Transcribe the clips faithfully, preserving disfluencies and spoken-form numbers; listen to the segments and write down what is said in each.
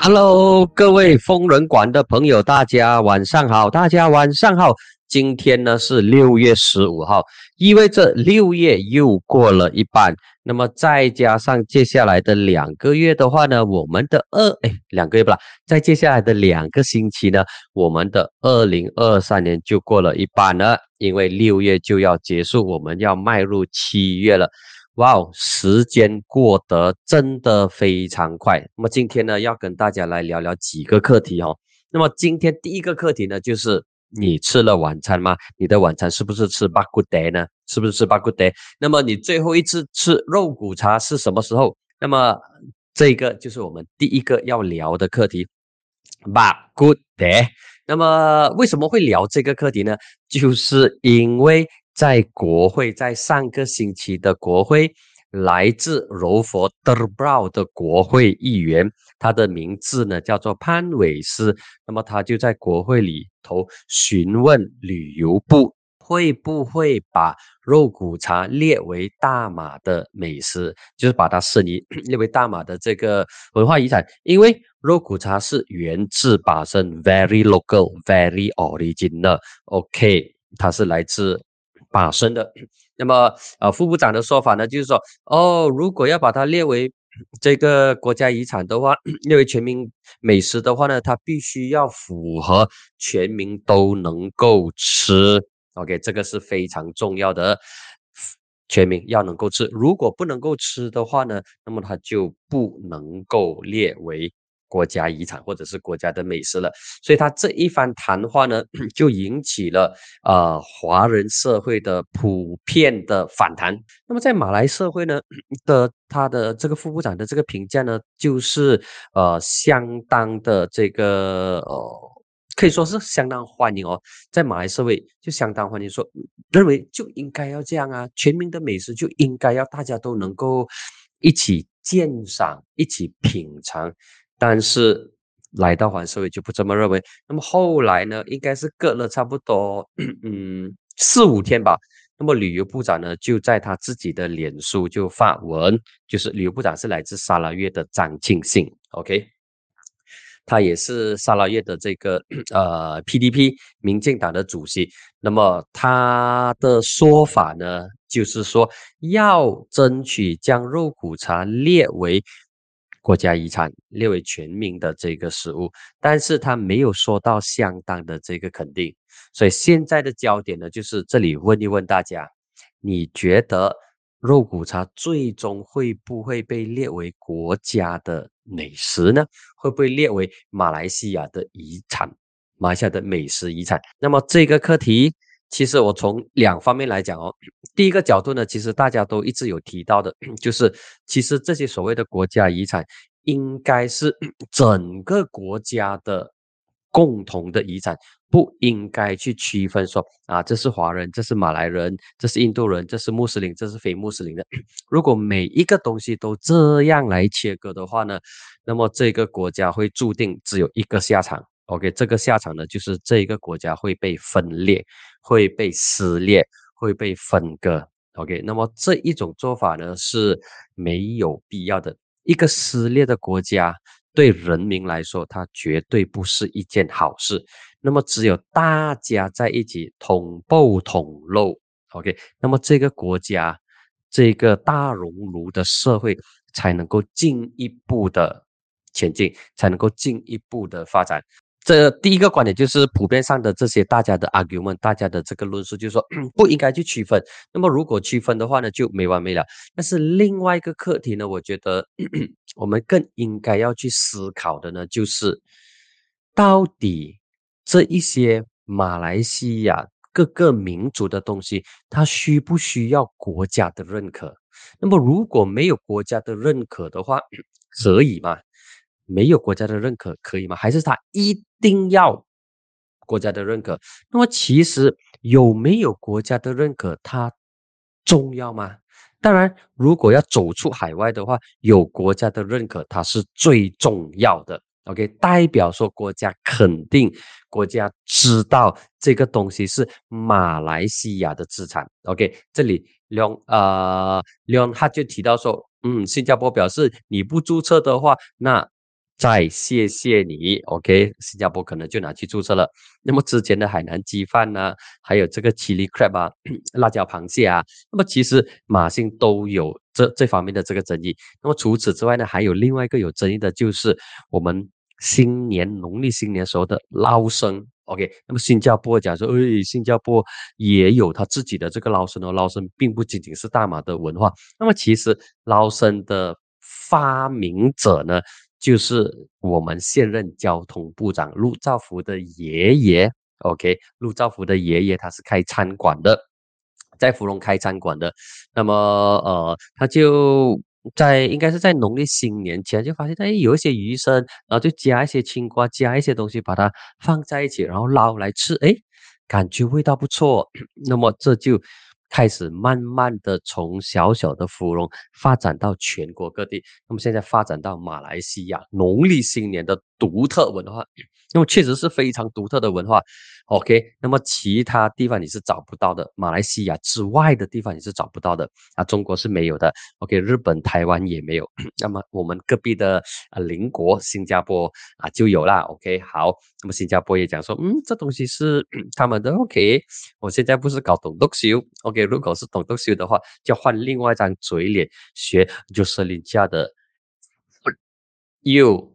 Hello，各位疯人馆的朋友，大家晚上好，大家晚上好。今天呢是六月十五号，意味着六月又过了一半。那么再加上接下来的两个月的话呢，我们的二哎两个月不啦，在接下来的两个星期呢，我们的二零二三年就过了一半了。因为六月就要结束，我们要迈入七月了。哇哦，时间过得真的非常快。那么今天呢，要跟大家来聊聊几个课题哦。那么今天第一个课题呢，就是你吃了晚餐吗？你的晚餐是不是吃巴古德呢？是不是吃巴古德？那么你最后一次吃肉骨茶是什么时候？那么这个就是我们第一个要聊的课题，巴古德。那么为什么会聊这个课题呢？就是因为在国会，在上个星期的国会，来自柔佛德布劳的国会议员，他的名字呢叫做潘伟斯。那么他就在国会里头询问旅游部会不会把肉骨茶列为大马的美食，就是把它申遗列为大马的这个文化遗产。因为肉骨茶是源自巴生 very local very original OK， 它是来自巴生的。那么呃，副部长的说法呢，就是说哦，如果要把它列为这个国家遗产的话，列为全民美食的话呢，它必须要符合全民都能够吃。OK， 这个是非常重要的，全民要能够吃。如果不能够吃的话呢，那么它就不能够列为国家遗产或者是国家的美食了。所以他这一番谈话呢，就引起了呃华人社会的普遍的反弹。那么在马来社会呢的他的这个副部长的这个评价呢，就是呃相当的这个呃。可以说是相当欢迎哦，在马来社会就相当欢迎说，认为就应该要这样啊，全民的美食就应该要大家都能够一起鉴赏，一起品尝。但是来到环社会就不这么认为。那么后来呢，应该是隔了差不多嗯四五天吧。那么旅游部长呢，就在他自己的脸书就发文，就是旅游部长是来自沙拉越的张庆信 ，OK。他也是沙拉越的这个呃 P D P 民进党的主席。那么他的说法呢，就是说要争取将肉骨茶列为国家遗产，列为全民的这个食物，但是他没有说到相当的这个肯定。所以现在的焦点呢，就是这里问一问大家，你觉得肉骨茶最终会不会被列为国家的美食呢？会不会列为马来西亚的遗产，马来西亚的美食遗产？那么这个课题，其实我从两方面来讲哦。第一个角度呢，其实大家都一直有提到的，就是其实这些所谓的国家遗产，应该是整个国家的共同的遗产，不应该去区分说啊，这是华人，这是马来人，这是印度人，这是穆斯林，这是非穆斯林的。如果每一个东西都这样来切割的话呢，那么这个国家会注定只有一个下场。OK， 这个下场呢，就是这个国家会被分裂，会被撕裂，会被分割。OK， 那么这一种做法呢是没有必要的。一个撕裂的国家对人民来说，它绝对不是一件好事。那么只有大家在一起同步同路 ，OK， 那么这个国家，这个大熔炉的社会才能够进一步的前进，才能够进一步的发展。这第一个观点就是普遍上的这些大家的 argument， 大家的这个论述就是说不应该去区分。那么如果区分的话呢，就没完没了。但是另外一个课题呢，我觉得我们更应该要去思考的呢，就是到底这一些马来西亚各个民族的东西，它需不需要国家的认可？那么如果没有国家的认可的话，可以吗？没有国家的认可可以吗？还是他一定要国家的认可？那么其实有没有国家的认可，它重要吗？当然，如果要走出海外的话，有国家的认可，它是最重要的。OK， 代表说国家肯定，国家知道这个东西是马来西亚的资产。OK， 这里 Leon 呃 Leon 他就提到说，嗯，新加坡表示你不注册的话，那再谢谢你 ，OK， 新加坡可能就拿去注册了。那么之前的海南鸡饭呢，还有这个 chili crab 啊，辣椒螃蟹啊，那么其实马星都有这这方面的这个争议。那么除此之外呢，还有另外一个有争议的就是我们新年农历新年时候的捞生。OK，那么新加坡讲说，诶，新加坡也有他自己的这个捞生哦，捞生并不仅仅是大马的文化。那么其实捞生的发明者呢，就是我们现任交通部长陆兆福的爷爷。OK，陆兆福的爷爷他是开餐馆的，在芙蓉开餐馆的。那么呃，他就在应该是在农历新年前就发现，哎，有一些鱼生，然后就加一些青瓜，加一些东西，把它放在一起，然后捞来吃，哎，感觉味道不错。那么这就开始慢慢的从小小的芙蓉发展到全国各地，那么现在发展到马来西亚农历新年的独特文化，那么确实是非常独特的文化。OK，那么其他地方你是找不到的，马来西亚之外的地方你是找不到的啊，中国是没有的。OK，日本、台湾也没有。那么我们隔壁的啊邻国新加坡啊就有啦。OK，好，那么新加坡也讲说，嗯，这东西是他们的。OK，我现在不是搞懂读修。OK，如果是懂读修的话，就换另外一张嘴脸学就是林家的 you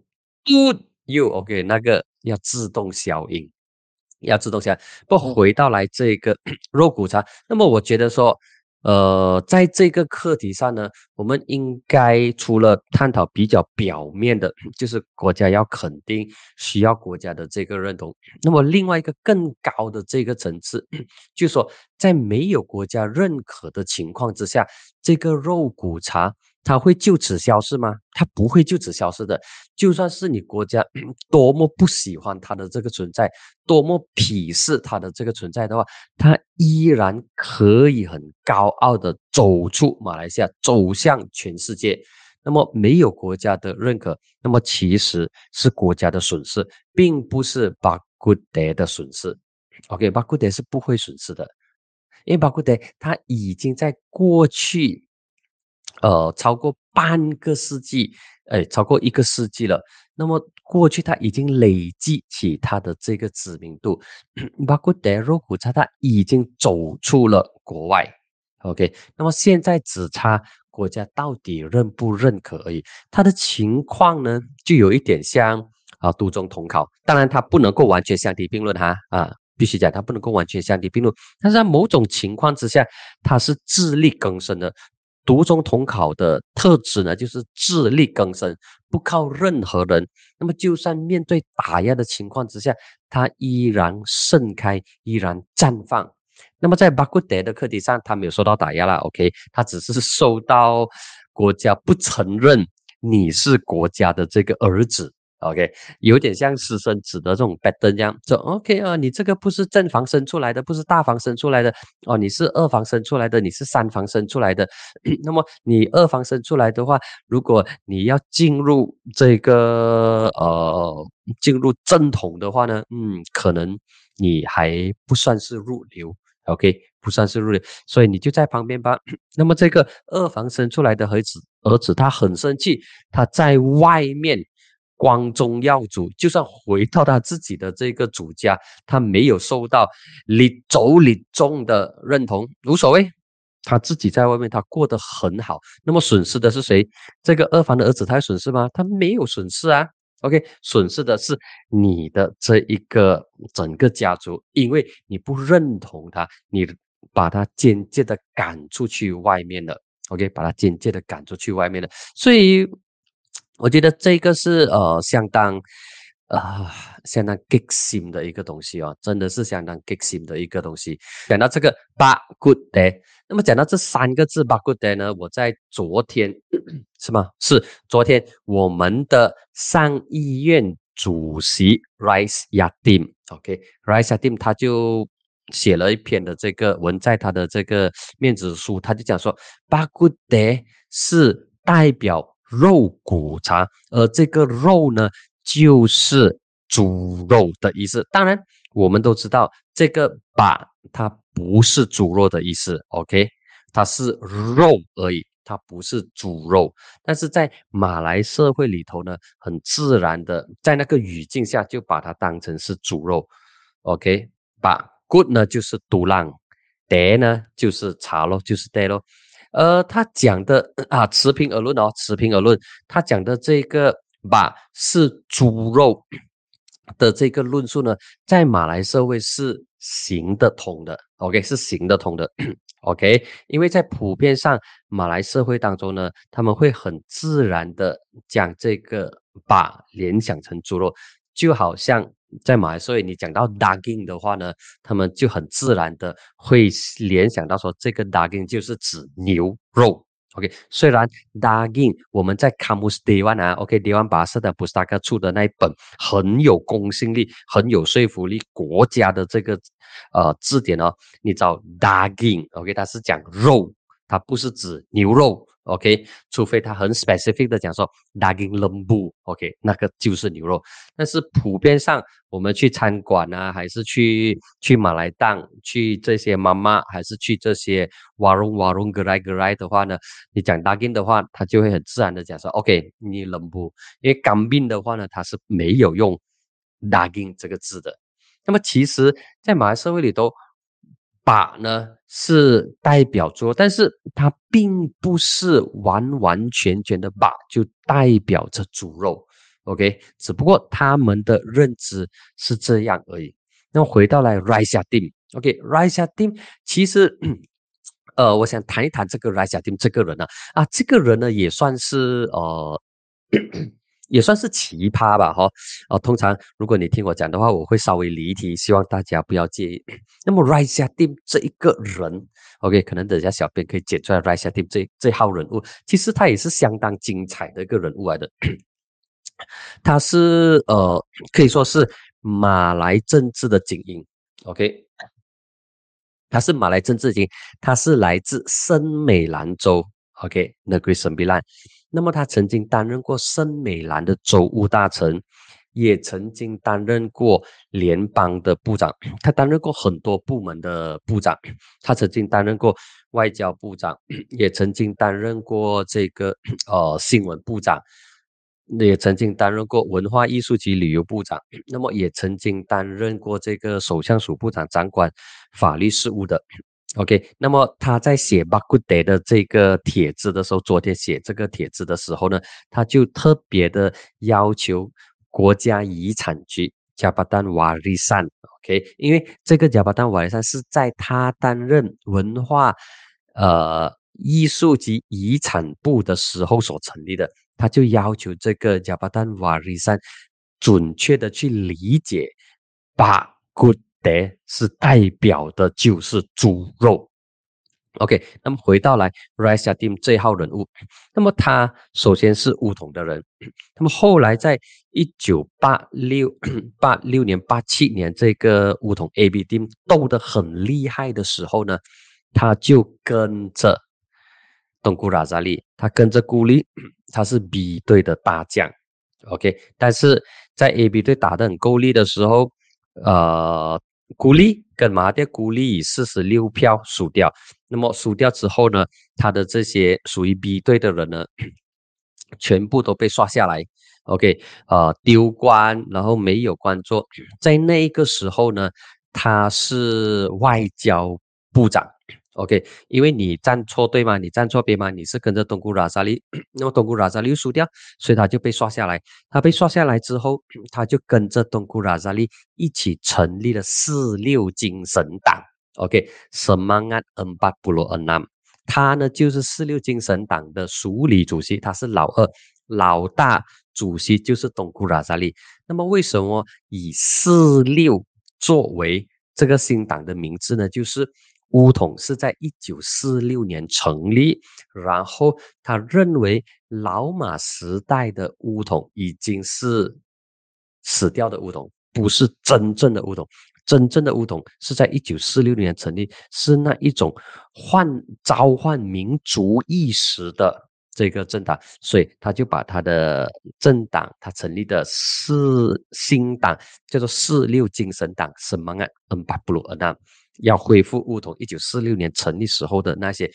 you OK， 那个要自动消音。要自动下来。不回到来这个肉骨茶，那么我觉得说，呃，在这个课题上呢，我们应该除了探讨比较表面的，就是国家要肯定需要国家的这个认同，那么另外一个更高的这个层次，就是说在没有国家认可的情况之下，这个肉骨茶它会就此消失吗？它不会就此消失的。就算是你国家多么不喜欢它的这个存在，多么鄙视它的这个存在的话，它依然可以很高傲的走出马来西亚，走向全世界。那么没有国家的认可，那么其实是国家的损失，并不是巴古德的损失。OK， 巴古德是不会损失的，因为巴古德它已经在过去呃，超过半个世纪，哎，超过一个世纪了。那么过去它已经累积起它的这个知名度，包括德肉骨茶，它已经走出了国外。OK，那么现在只差国家到底认不认可而已。它的情况呢，就有一点像啊都中统考，当然它不能够完全相提并论哈啊。必须讲，它不能够完全相提并论，但是在某种情况之下，它是自力更生的。读中统考的特质呢，就是自力更生，不靠任何人。那么，就算面对打压的情况之下，它依然盛开，依然绽放。那么，在巴古德的课题上，他没有受到打压啦 OK，他只是受到国家不承认你是国家的这个儿子。OK，有点像私生子的这种 pattern 这样，说 OK 啊，你这个不是正房生出来的，不是大房生出来的哦，你是二房生出来的，你是三房生出来的。那么你二房生出来的话，如果你要进入这个呃进入正统的话呢，嗯，可能你还不算是入流。OK，不算是入流，所以你就在旁边吧。那么这个二房生出来的儿子，儿子他很生气，他在外面光宗耀祖，就算回到他自己的这个主家，他没有受到礼走礼宗的认同，无所谓，他自己在外面他过得很好。那么损失的是谁？这个二房的儿子他有损失吗？他没有损失啊。OK，损失的是你的这一个整个家族，因为你不认同他，你把他间接的赶出去外面了。OK， 把他间接的赶出去外面了，所以我觉得这个是呃相当呃相当激心的一个东西哦，真的是相当激心的一个东西。讲到这个巴古德，那么讲到这三个字巴古德呢，我在昨天是吗？是昨天我们的上议院主席 Rais Yatim，OK，Rais Yatim 他就写了一篇的这个文，在他的这个面子书，他就讲说巴古德是代表肉骨茶，而这个肉呢，就是猪肉的意思。当然，我们都知道这个把它不是猪肉的意思 ，OK， 它是肉而已。 它不是猪肉，但是在马来社会里头呢，很自然的在那个语境下就把它当成是猪肉。OK， 把 good 呢就是独浪 d 呢就是茶咯，就是 d 咯。呃，他讲的啊，持平而论哦，持平而论，他讲的这个把是猪肉的这个论述呢，在马来社会是行得通的 ，OK， 是行得通的，OK，因为在普遍上马来社会当中呢，他们会很自然的将这个把联想成猪肉，就好像在马来社会你讲到 daging 的话呢，他们就很自然的会联想到说这个 daging 就是指牛肉。OK， 虽然 daging 我们在 Kamus Dewan 啊 ，OK Dewan Bahasa dan Pustaka 出的那一本很有公信力、很有说服力国家的这个呃字典哦，你找 daging，OK， 它是讲肉，它不是指牛肉。OK， 除非他很 specific 的讲说 daging lembu，OK， 那个就是牛肉。但是普遍上，我们去餐馆啊，还是去去马来档，去这些妈妈，还是去这些 warung warung gerai gerai 的话呢，你讲 daging 的话，他就会很自然的讲说 OK， 你 lembu， 因为 kambing 的话呢，它是没有用 daging 这个字的。那么其实，在马来社会里头，把呢是代表猪，但是它并不是完完全全的把就代表着猪肉 ，OK， 只不过他们的认知是这样而已。那么回到来 Raisa Dim，OK，Raisa Dim 其实呃，我想谈一谈这个 Raisa Dim 这个人呢，啊，这个人呢也算是呃。也算是奇葩吧，哈、哦，啊，通常如果你听我讲的话，我会稍微离题，希望大家不要介意。那么 Raisa Dim 这一个人 ，OK， 可能等一下小编可以剪出来 Raisa Dim 这这号人物，其实他也是相当精彩的一个人物来的。他是呃，可以说是马来政治的精英 ，OK， 他是马来政治精英，他是来自森美兰州 ，OK，Negeri Sembilan。那么他曾经担任过森美兰的州务大臣，也曾经担任过联邦的部长，他担任过很多部门的部长，他曾经担任过外交部长，也曾经担任过这个呃新闻部长，也曾经担任过文化艺术及旅游部长，那么也曾经担任过这个首相署部长，掌管法律事务的。OK，那么他在写巴古德的这个帖子的时候，昨天写这个帖子的时候呢，他就特别的要求国家遗产局加巴丹瓦利山 ，OK， 因为这个加巴丹瓦利山是在他担任文化呃艺术及遗产部的时候所成立的，他就要求这个加巴丹瓦利山准确的去理解巴古德是代表的就是猪肉。OK， 那么回到来 Raisa Dim 这一号人物，那么他首先是巫统的人，那么后来在一九八六八六年八七年这个巫统 A B Dim 斗得很厉害的时候呢，他就跟着东姑拉扎利，他跟着孤立，他是 B 队的大将 ，OK， 但是在 A B 队打得很够力的时候，呃。孤立跟马哈迪孤立以四十六票输掉，那么输掉之后呢，他的这些属于 B 队的人呢，全部都被刷下来 ，OK， 呃，丢官，然后没有官做，在那个时候呢，他是外交部长。OK， 因为你站错队嘛，你站错边嘛，你是跟着东姑拉萨利，那么东姑拉萨利又输掉，所以他就被刷下来。他被刷下来之后，他就跟着东姑拉萨利一起成立了四六精神党。OK，Semangat Empat Puluh Enam，他呢就是四六精神党的署理主席，他是老二，老大主席就是东姑拉萨利。那么为什么以四六作为这个新党的名字呢？就是巫统是在一九四六年成立，然后他认为老马时代的巫统已经是死掉的巫统，不是真正的巫统。真正的巫统是在一九四六年成立，是那一种换召唤民族意识的这个政党，所以他就把他的政党，他成立的四新党叫做四六精神党 Semangat Empat Puluh Enam，要恢复巫统一九四六年成立时候的那些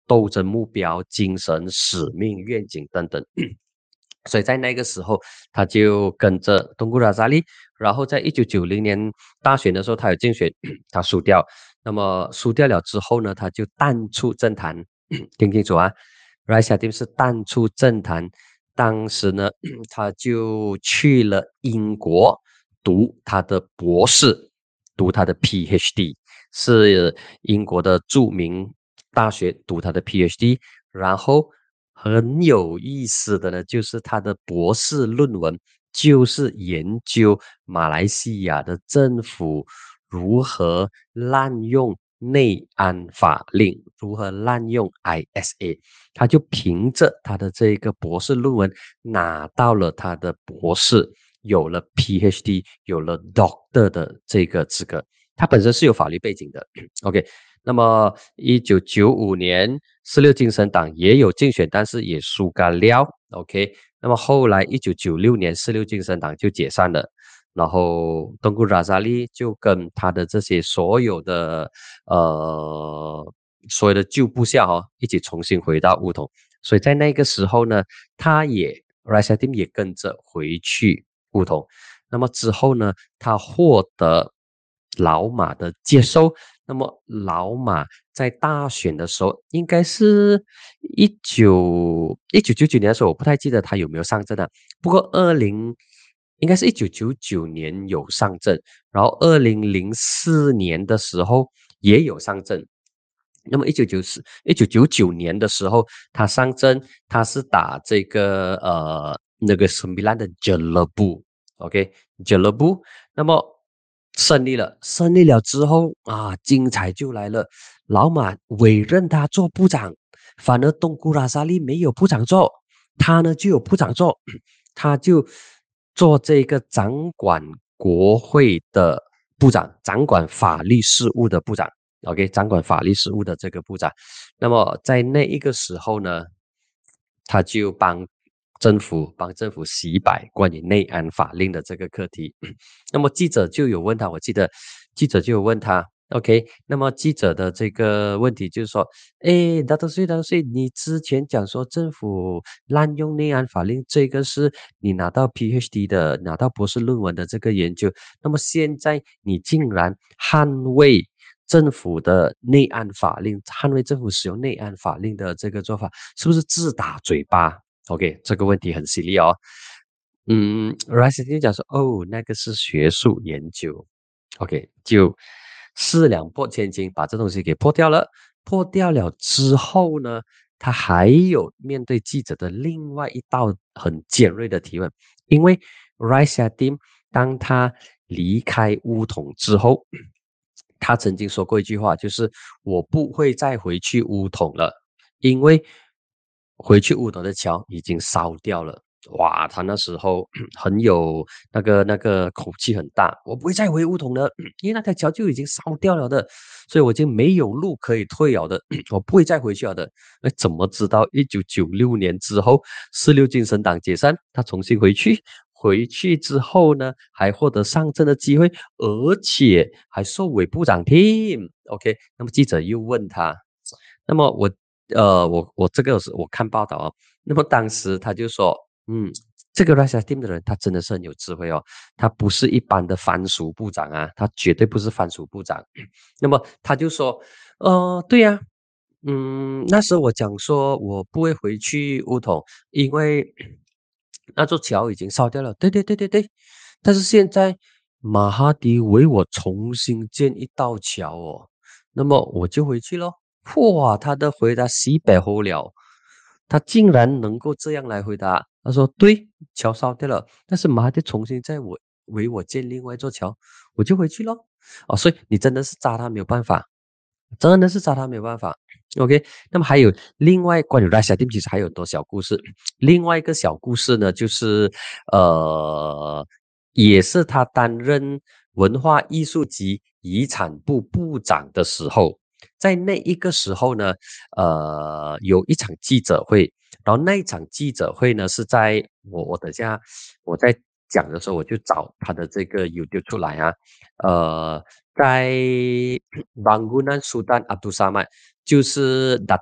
斗争目标、精神、使命、愿景等等。所以在那个时候，他就跟着东姑拉扎利，然后在一九九零年大选的时候，他有竞选，他输掉。那么输掉了之后呢，他就淡出政坛，听清楚啊 r a s h a d i m 是淡出政坛。当时呢，他就去了英国读他的博士，读他的 P H D， 是英国的著名大学读他的 P H D， 然后很有意思的呢，就是他的博士论文就是研究马来西亚的政府如何滥用内安法令，如何滥用 I S A， 他就凭着他的这个博士论文拿到了他的博士，有了 P H D， 有了 Doctor 的这个资格。他本身是有法律背景的，OK。那么一九九五年十六精神党也有竞选，但是也输干了 OK。那么后来一九九六年十六精神党就解散了，然后东姑拉扎利就跟他的这些所有的呃所有的旧部下哦一起重新回到巫统。所以在那个时候呢，他也 Raisadim 也跟着回去巫统。那么之后呢，他获得老马的接受。那么老马在大选的时候，应该是一九一九九九年的时候，我不太记得他有没有上阵啊。不过二零应该是一九九九年有上阵，然后二零零四年的时候也有上阵。那么一九九四一九九九年的时候，他上阵，他是打这个呃那个什米兰的 Jelebu，OK Jelebu， 那么胜利了，胜利了之后啊，精彩就来了。老马委任他做部长，反而东姑拉沙利没有部长做，他呢就有部长做，他就做这个掌管国会的部长，掌管法律事务的部长。OK， 掌管法律事务的这个部长。那么在那一个时候呢，他就帮政府帮政府洗白关于内安法令的这个课题。那么记者就有问他，我记得记者就有问他 OK， 那么记者的这个问题就是说，诶，大多岁大多岁，你之前讲说政府滥用内安法令，这个是你拿到 P H D 的拿到博士论文的这个研究，那么现在你竟然捍卫政府的内安法令，捍卫政府使用内安法令的这个做法，是不是自打嘴巴 ？OK， 这个问题很犀利哦。嗯 r i s e 就讲说，哦，那个是学术研究 ，OK， 就四两拨千斤，把这东西给破掉了。破掉了之后呢，他还有面对记者的另外一道很尖锐的提问，因为 r i s e Dim 当他离开巫统之后。他曾经说过一句话，就是我不会再回去巫统了，因为回去巫统的桥已经烧掉了。哇，他那时候很有那个那个口气很大，我不会再回巫统了，因为那条桥就已经烧掉了的，所以我已经没有路可以退了的，我不会再回去了的。那怎么知道一九九六年之后，四六精神党解散，他重新回去？回去之后呢，还获得上阵的机会，而且还受委部长听。OK，那么记者又问他，那么我呃，我我这个是我看报道哦，那么当时他就说，嗯，这个 Rasa Team 的人，他真的是很有智慧哦，他不是一般的番薯部长啊，他绝对不是番薯部长。那么他就说，呃，对呀、啊，嗯，那时候我讲说我不会回去乌统，因为那座桥已经烧掉了。对对对对对，但是现在马哈迪为我重新建一道桥哦，那么我就回去咯。哇，他的回答西北后了，他竟然能够这样来回答。他说：“对，桥烧掉了，但是马哈迪重新在我为我建另外一座桥，我就回去咯。”哦，所以你真的是扎他没有办法，真的是扎他没有办法。OK，那么还有另外关于 Rasa Team 其实还有很多小故事。另外一个小故事呢，就是呃，也是他担任文化艺术及遗产部部长的时候，在那一个时候呢，呃，有一场记者会，然后那一场记者会呢是在我我等下我在讲的时候，我就找他的这个 YouTube 出来啊，呃，在 Bangunan Sultan Abdul Samad，就是 Datat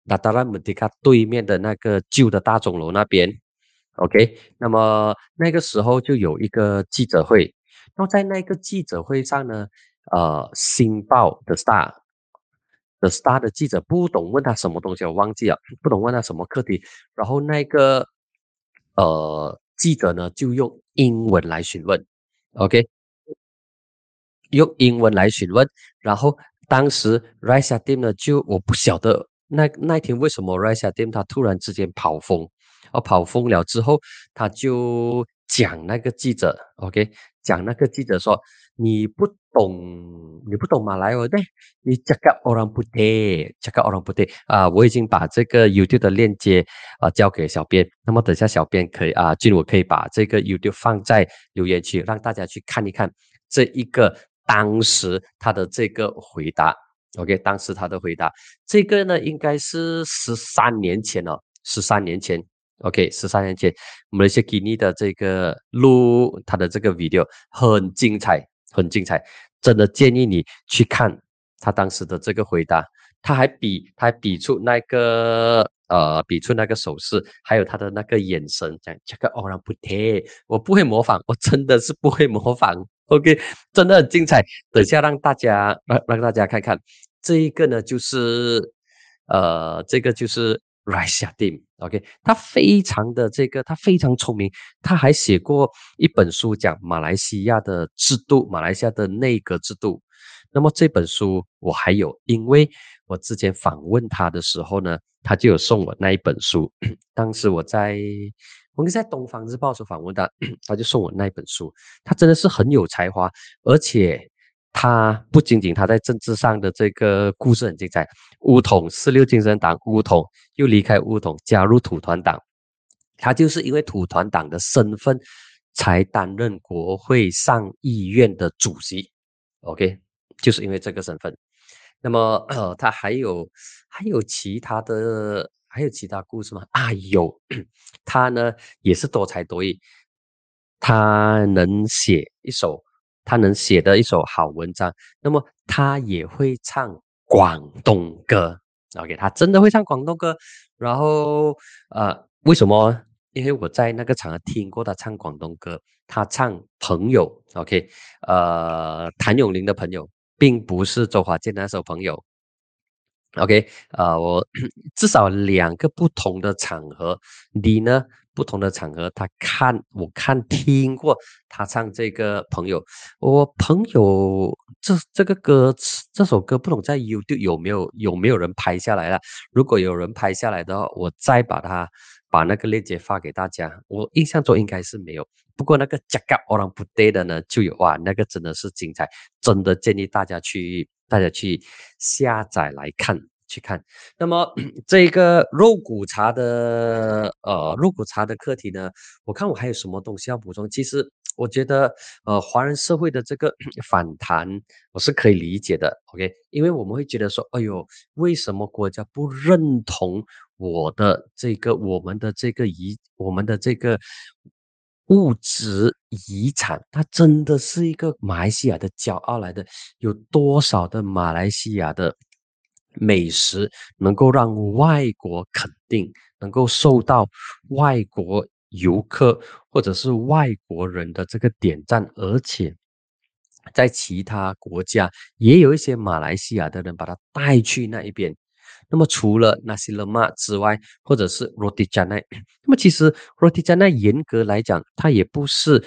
达达拉姆迪卡对面的那个旧的大钟楼那边。OK，那么那个时候就有一个记者会，然后在那个记者会上呢，呃，星报的 Star 的 Star 的记者不懂问他什么东西，我忘记了，不懂问他什么课题，然后那个呃记者呢就用英文来询问，OK，用英文来询问，然后当时 Raisa Dim 呢，就我不晓得那那天为什么 Raisa Dim 他突然之间跑疯，哦，跑疯了之后，他就讲那个记者，OK，讲那个记者说你不懂，你不懂马来文的，你 cakap orang putih，cakap orang putih 啊，我已经把这个 YouTube 的链接啊交给小编，那么等一下小编可以啊，俊我可以把这个 YouTube 放在留言区，让大家去看一看。这一个当时他的这个回答，OK，当时他的回答，这个呢应该是十三年前哦，十三年前，OK，十三年前，马来西亚 Kini 的这个录他的这个 video 很精彩，很精彩，真的建议你去看他当时的这个回答，他还比他还比出那个呃比出那个手势，还有他的那个眼神，讲这个 orang putih，我不会模仿，我真的是不会模仿。OK，真的很精彩。等一下让大家让让大家看看，这一个呢就是呃，这个就是 Raisa Dim。OK，他非常的这个，他非常聪明，他还写过一本书讲马来西亚的制度，马来西亚的内阁制度。那么这本书我还有，因为我之前访问他的时候呢，他就有送我那一本书。当时我在我应该在东方日报所访问他，他就送我那一本书。他真的是很有才华，而且他不仅仅他在政治上的这个故事很精彩，巫统四六精神党，巫统又离开巫统，加入土团党，他就是因为土团党的身份才担任国会上议院的主席。OK，就是因为这个身份。那么呃，他还有还有其他的还有其他故事吗？啊，有，他呢也是多才多艺，他能写一首他能写的一首好文章，那么他也会唱广东歌。OK，他真的会唱广东歌。然后呃，为什么？因为我在那个场合听过他唱广东歌，他唱《朋友》，OK，呃，谭咏麟的朋友，并不是周华健那首《朋友》。OK，呃，我至少两个不同的场合，你呢不同的场合，他看我看听过他唱这个朋友，我朋友这这个歌这首歌不懂在 YouTube 有没有有没有人拍下来了？如果有人拍下来的话，我再把它把那个链接发给大家。我印象中应该是没有，不过那个 Jaga Orang Putih 的呢就有哇，那个真的是精彩，真的建议大家去。大家去下载来看，去看。那么这个肉骨茶的呃肉骨茶的课题呢，我看我还有什么东西要补充。其实我觉得呃华人社会的这个反弹我是可以理解的 ，OK，因为我们会觉得说，哎呦，为什么国家不认同我的这个我们的这个遗我们的这个物质遗产，它真的是一个马来西亚的骄傲来的。有多少的马来西亚的美食能够让外国肯定，能够受到外国游客或者是外国人的这个点赞，而且在其他国家也有一些马来西亚的人把它带去那一边。那么除了 nasi lemak 之外，或者是 roti canai，那么其实 roti canai 严格来讲，它也不是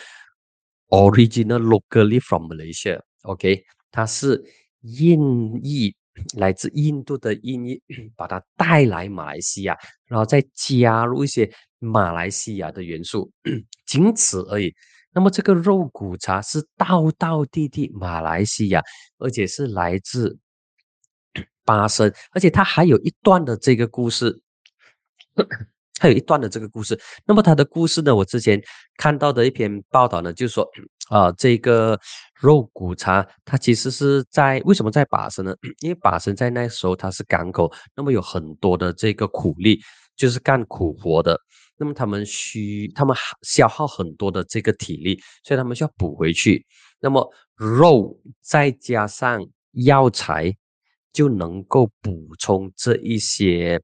original locally from Malaysia，OK，、okay? 它是印裔，来自印度的印裔，把它带来马来西亚，然后再加入一些马来西亚的元素，仅此而已。那么这个肉骨茶是道道地地马来西亚，而且是来自巴生，而且它还有一段的这个故事，还有一段的这个故事。那么它的故事呢，我之前看到的一篇报道呢，就是说，啊、呃，这个肉骨茶它其实是在为什么在巴生呢？因为巴生在那时候它是港口，那么有很多的这个苦力，就是干苦活的。那么他们需他们消耗很多的这个体力，所以他们需要补回去。那么肉再加上药材，就能够补充这一些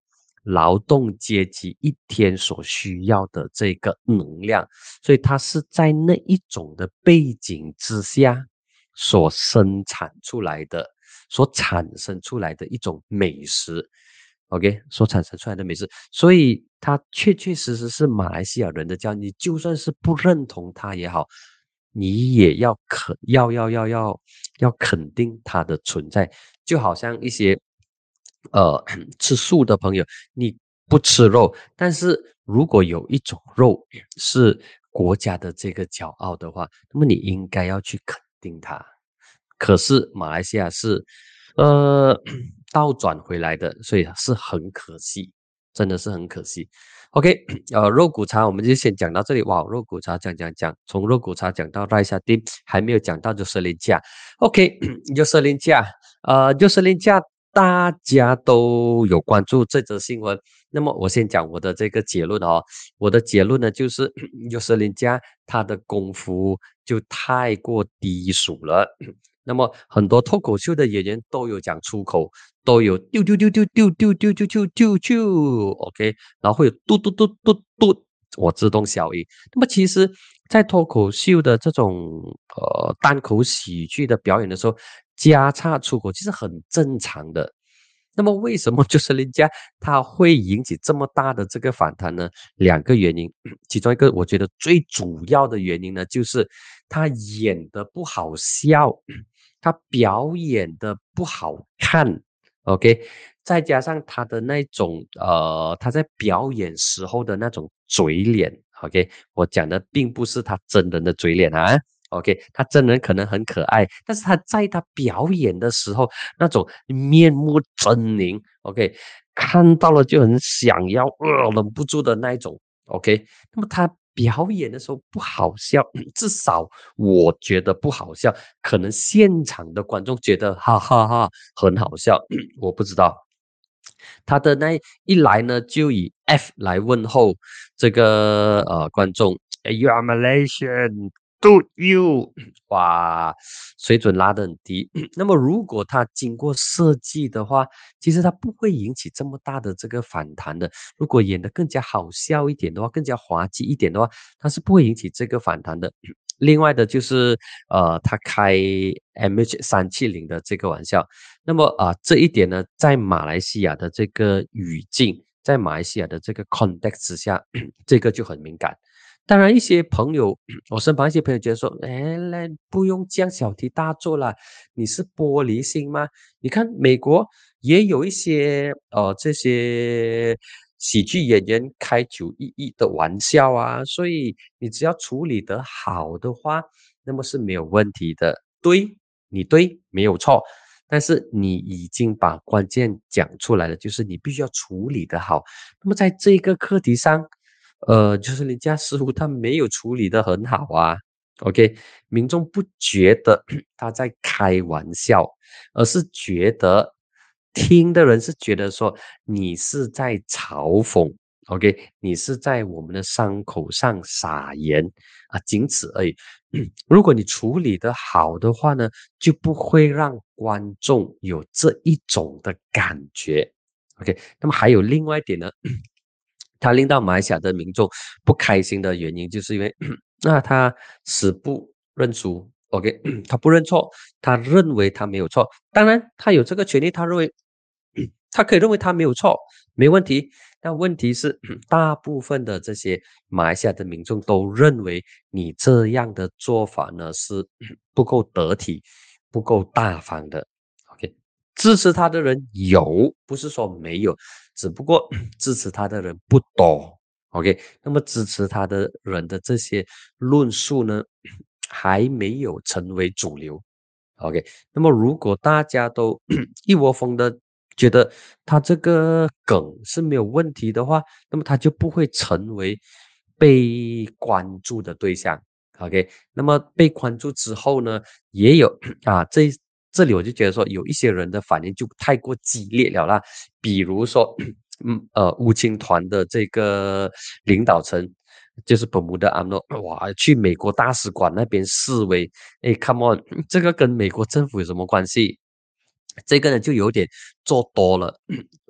劳动阶级一天所需要的这个能量，所以它是在那一种的背景之下所生产出来的，所产生出来的一种美食。OK，所产生出来的美食，所以它确确实实是马来西亚人的家。你就算是不认同它也好，你也要肯要要要要要肯定它的存在。就好像一些呃吃素的朋友，你不吃肉，但是如果有一种肉是国家的这个骄傲的话，那么你应该要去肯定它。可是马来西亚是呃倒转回来的，所以是很可惜，真的是很可惜。OK，呃，肉骨茶我们就先讲到这里。哇，肉骨茶讲讲讲，从肉骨茶讲到赖沙丁，还没有讲到就是林架。OK，就是林架，呃，就是林架，大家都有关注这则新闻。那么我先讲我的这个结论哦，我的结论呢就是就是林架他的功夫就太过低俗了。那么很多脱口秀的演员都有讲出口，都有丢丢丢丢丢丢丢丢丢丢丢 OK，然后会有嘟嘟嘟嘟嘟，我自动消音。那么其实，在脱口秀的这种呃单口喜剧的表演的时候，加插出口其实很正常的。那么为什么就是人家他会引起这么大的这个反弹呢？两个原因，其中一个我觉得最主要的原因呢，就是他演的不好笑，他表演的不好看，OK，再加上他的那种呃，他在表演时候的那种嘴脸，OK，我讲的并不是他真人的嘴脸啊。OK，他真人可能很可爱，但是他在他表演的时候，那种面目狰狞，OK，看到了就很想要，呃，忍不住的那一种，OK。那么他表演的时候不好笑，至少我觉得不好笑，可能现场的观众觉得哈哈哈很好笑，我不知道。他的那一来呢，就以 F 来问候这个呃观众，You are Malaysian, do you？哇，水准拉得很低。那么如果他经过设计的话，其实他不会引起这么大的这个反弹的。如果演得更加好笑一点的话，更加滑稽一点的话，他是不会引起这个反弹的。另外的就是，呃，他开 M H 三七零的这个玩笑，那么啊、呃，这一点呢，在马来西亚的这个语境，在马来西亚的这个 context 之下，这个就很敏感。当然，一些朋友，我身旁一些朋友觉得说，哎，来不用这样小题大做啦，你是玻璃心吗？你看美国也有一些呃这些喜剧演员开九一一的玩笑啊，所以你只要处理得好的话，那么是没有问题的。对，你对，没有错。但是你已经把关键讲出来了，就是你必须要处理得好。那么在这个课题上，呃，就是人家似乎他没有处理得很好啊。OK，民众不觉得他在开玩笑，而是觉得听的人是觉得说你是在嘲讽，OK，你是在我们的伤口上撒盐啊，仅此而已。如果你处理得好的话呢，就不会让观众有这一种的感觉。OK，那么还有另外一点呢，他令到马来西亚的民众不开心的原因，就是因为那他死不认输，OK，他不认错，他认为他没有错，当然他有这个权利，他认为他可以认为他没有错，没问题。但问题是，大部分的这些马来西亚的民众都认为你这样的做法呢是不够得体、不够大方的。OK，支持他的人有，不是说没有，只不过支持他的人不多。OK，那么支持他的人的这些论述呢，还没有成为主流。OK，那么如果大家都一窝蜂的觉得他这个梗是没有问题的话，那么他就不会成为被关注的对象。OK，那么被关注之后呢，也有啊，这这里我就觉得说，有一些人的反应就太过激烈了啦，比如说，嗯呃，乌青团的这个领导层。就是本穆的阿诺，哇，去美国大使馆那边示威，哎，come on，这个跟美国政府有什么关系？这个呢就有点做多了。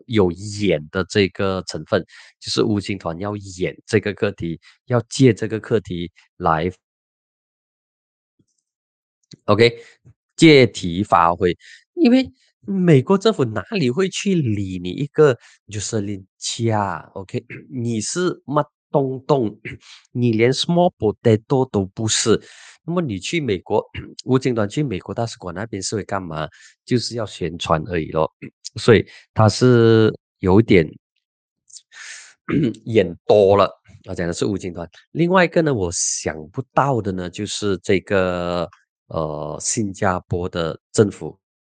有演的这个成分，就是乌青团要演这个课题，要借这个课题来 OK 借题发挥，因为美国政府哪里会去理你一个就是林家 OK 你是乜东东，你连 small potato 都不是，那么你去美国吴京团去美国大使馆那边是会干嘛？就是要宣传而已咯，所以他是有点演多了。我讲的是吴京团，另外一个呢，我想不到的呢，就是这个呃新加坡的政府。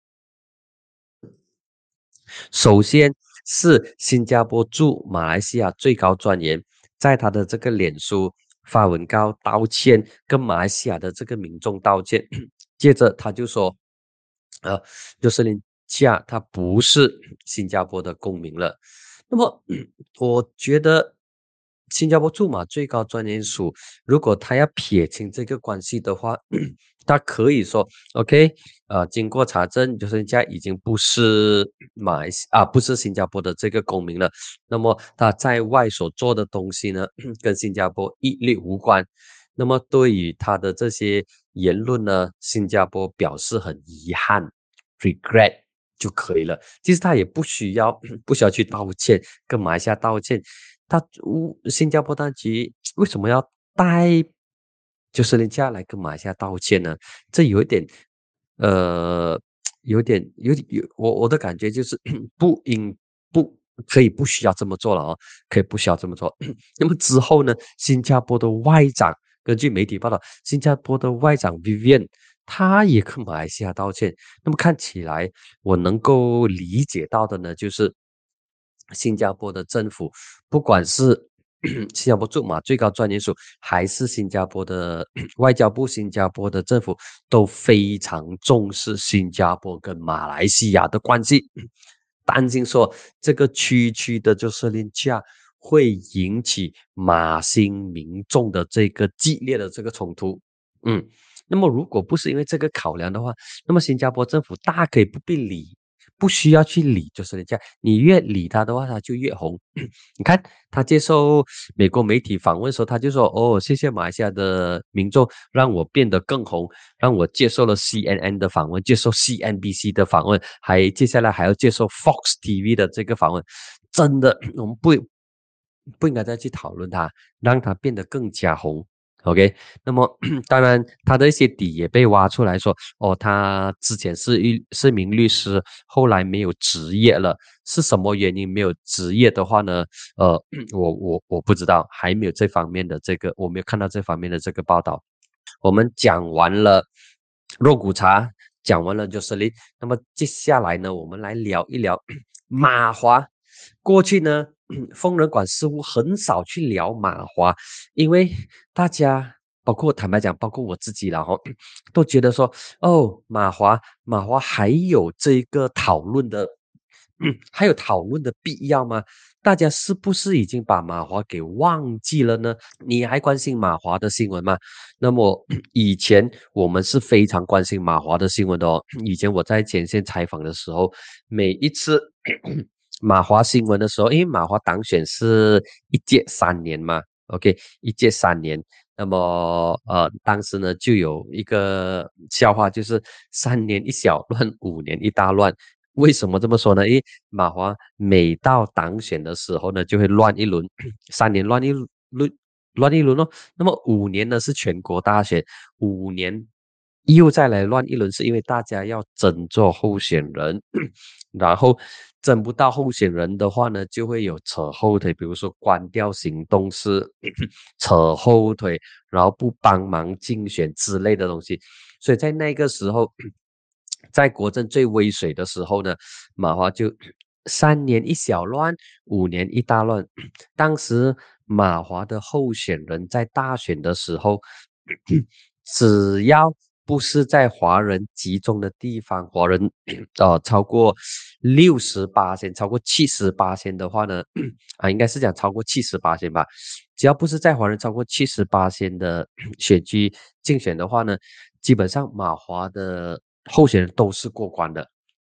首先是新加坡驻马来西亚最高专员，在他的这个脸书发文告道歉，跟马来西亚的这个民众道歉。接着他就说，呃，就是林加他不是新加坡的公民了。那么，我觉得新加坡驻马最高专员署，如果他要撇清这个关系的话，他可以说 OK，呃，经过查证，就是人家已经不是马来西啊，不是新加坡的这个公民了。那么他在外所做的东西呢，跟新加坡一律无关。那么对于他的这些言论呢，新加坡表示很遗憾 ，regret 就可以了。其实他也不需要不需要去道歉，跟马来西亚道歉。他乌新加坡当局为什么要带就是人家来跟马来西亚道歉呢？这有一点，呃，有点有点有我我的感觉就是不应不可以不需要这么做了哦，可以不需要这么做。那么之后呢，新加坡的外长根据媒体报道，新加坡的外长 Vivian 他也跟马来西亚道歉。那么看起来我能够理解到的呢，就是新加坡的政府，不管是新加坡驻马最高专员署，还是新加坡的外交部、新加坡的政府，都非常重视新加坡跟马来西亚的关系，担心说这个区区的就是廉价会引起马新民众的这个激烈的这个冲突。嗯，那么如果不是因为这个考量的话，那么新加坡政府大可以不必理，不需要去理，就是人家你越理他的话，他就越红。你看他接受美国媒体访问的时候，他就说：“哦，谢谢马来西亚的民众，让我变得更红，让我接受了 C N N 的访问，接受 C N B C 的访问，还接下来还要接受 Fox T V 的这个访问。真的，我们不不应该再去讨论他，让他变得更加红。” OK，那么当然他的一些底也被挖出来说，哦，他之前是一是名律师，后来没有职业了，是什么原因没有职业的话呢？呃，我我我不知道，还没有这方面的这个，我没有看到这方面的这个报道。我们讲完了肉骨茶，讲完了就是林，那么接下来呢，我们来聊一聊马华。过去呢，疯人馆似乎很少去聊马华，因为大家包括坦白讲，包括我自己啦哈，都觉得说，哦，马华马华还有这个讨论的，还有讨论的必要吗？大家是不是已经把马华给忘记了呢？你还关心马华的新闻吗？那么以前我们是非常关心马华的新闻的哦。以前我在前线采访的时候，每一次马华新闻的时候，因为马华当选是一届三年嘛，OK，一届三年。那么呃，当时呢就有一个笑话，就是三年一小乱，五年一大乱。为什么这么说呢？因为马华每到当选的时候呢，就会乱一轮，三年乱一轮，乱一轮哦。那么五年呢是全国大选，五年又再来乱一轮，是因为大家要争做候选人，然后争不到候选人的话呢，就会有扯后腿，比如说关掉行动是扯后腿，然后不帮忙竞选之类的东西。所以在那个时候，在国政最威水的时候呢，马华就三年一小乱，五年一大乱。当时马华的候选人在大选的时候，只要不是在华人集中的地方，华人呃超过六十八千，超过七十八千的话呢，啊应该是讲超过七十八千吧。只要不是在华人超过七十八千的选区竞选的话呢，基本上马华的候选人都是过关的。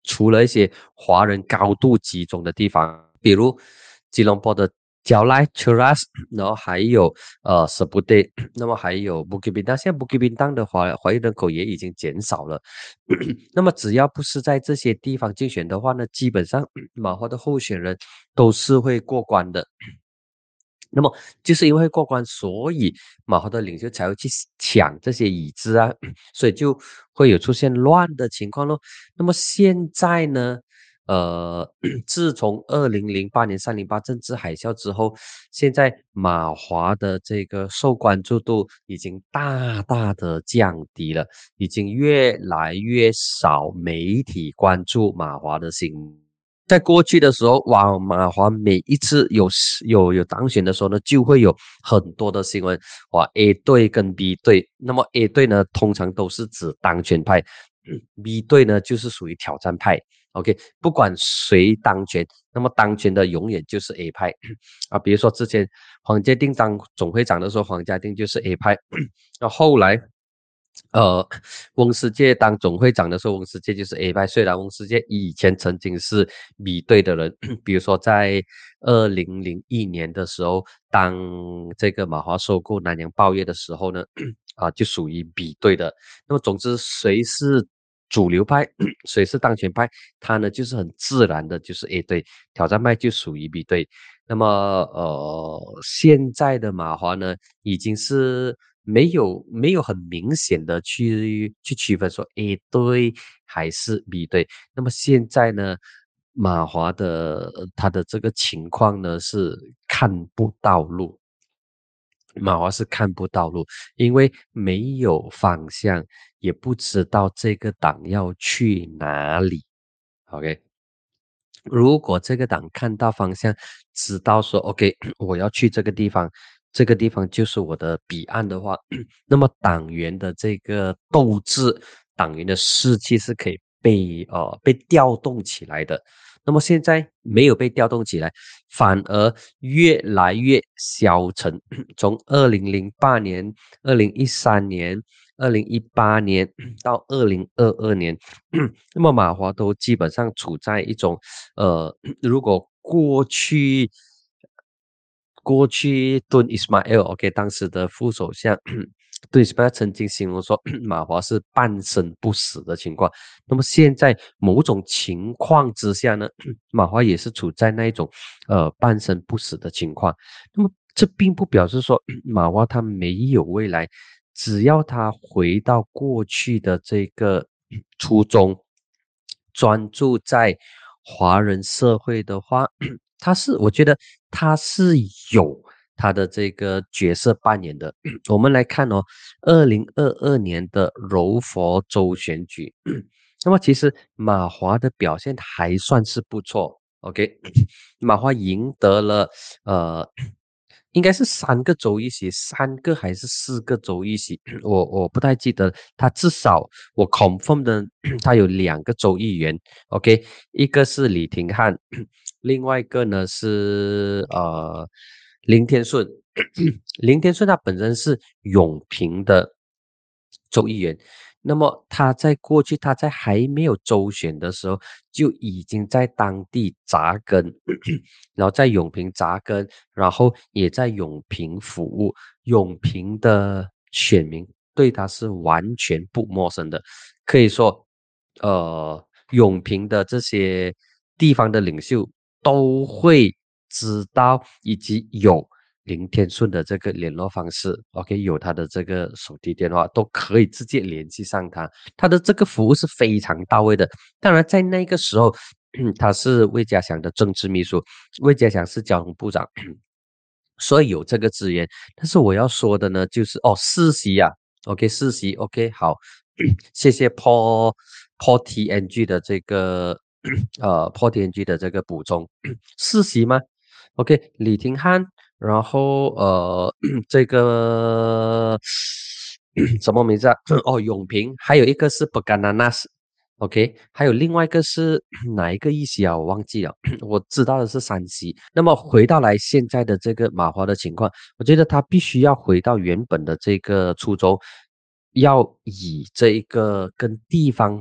除了一些华人高度集中的地方，比如吉隆坡的蕉赖 Cheras，然后还有呃 Seputeh，那么还有 Bukit Bintang，现在 Bukit Bintang 的华华裔人口也已经减少了。那么只要不是在这些地方竞选的话呢，基本上马华的候选人都是会过关的。那么就是因为过关，所以马华的领袖才会去抢这些椅子啊，所以就会有出现乱的情况咯。那么现在呢，呃，自从二零零八年三零八政治海啸之后，现在马华的这个受关注度已经大大的降低了，已经越来越少媒体关注马华的新闻。在过去的时候，哇，马华每一次有有有当选的时候呢，就会有很多的新闻，哇 ，A 队跟 B 队，那么 A 队呢，通常都是指当权派，嗯，B 队呢就是属于挑战派。OK，不管谁当权，那么当权的永远就是 A 派啊。比如说之前黄家定当总会长的时候，黄家定就是 A 派，那后来。呃，翁世界当总会长的时候，翁世界就是 A 派。虽然翁世界以前曾经是 B 队的人，比如说在二零零一年的时候，当这个马华收购南洋报业的时候呢，啊，就属于 B 队的。那么总之，谁是主流派，谁是当权派，他呢就是很自然的就是 A 队，挑战派就属于 B 队。那么呃，现在的马华呢，已经是没有没有很明显的去去区分说 A 队还是 B 队。那么现在呢，马华的呃他的这个情况呢是看不到路，马华是看不到路，因为没有方向，也不知道这个党要去哪里。OK。如果这个党看到方向，知道说 OK，我要去这个地方，这个地方就是我的彼岸的话，那么党员的这个斗志、党员的士气是可以被呃被调动起来的。那么现在没有被调动起来，反而越来越消沉。从二零零八年、二零一三年、二零一八年到二零二二年，那么马华都基本上处在一种呃，如果过去过去敦伊斯马 l OK，当时的副首相敦伊斯马曾经形容说马华是半生不死的情况。那么现在某种情况之下呢，马华也是处在那一种呃半生不死的情况。那么这并不表示说马华他没有未来，只要他回到过去的这个初衷，专注在华人社会的话，他是我觉得他是有他的这个角色扮演的。我们来看哦，二零二二年的柔佛州选举，那么其实马华的表现还算是不错。OK，马华赢得了呃，应该是三个州议席，三个还是四个州议席，我我不太记得。他至少我 confirm 的，他有两个州议员。OK，一个是李廷汉，另外一个呢是呃林天顺。林天顺他本身是永平的州议员，那么他在过去他在还没有州选的时候就已经在当地扎根，然后在永平扎根，然后也在永平服务，永平的选民对他是完全不陌生的，可以说，呃，永平的这些地方的领袖都会知道以及有林天顺的这个联络方式 ，OK，有他的这个手提电话，都可以直接联系上他。他的这个服务是非常到位的。当然，在那个时候，他是魏家祥的政治秘书，魏家祥是交通部长，所以有这个资源。但是我要说的呢，就是哦，世袭啊，OK，世袭，OK，好，谢谢 Paul Paul T N G 的这个呃 Paul T N G 的这个补充，世袭吗？OK，李廷汉。然后呃，这个什么名字啊？哦，永平，还有一个是 Bagananas，OK，还有另外一个是哪一个议席啊？我忘记了，我知道的是山西。那么回到来现在的这个马华的情况，我觉得他必须要回到原本的这个初衷，要以这一个跟地方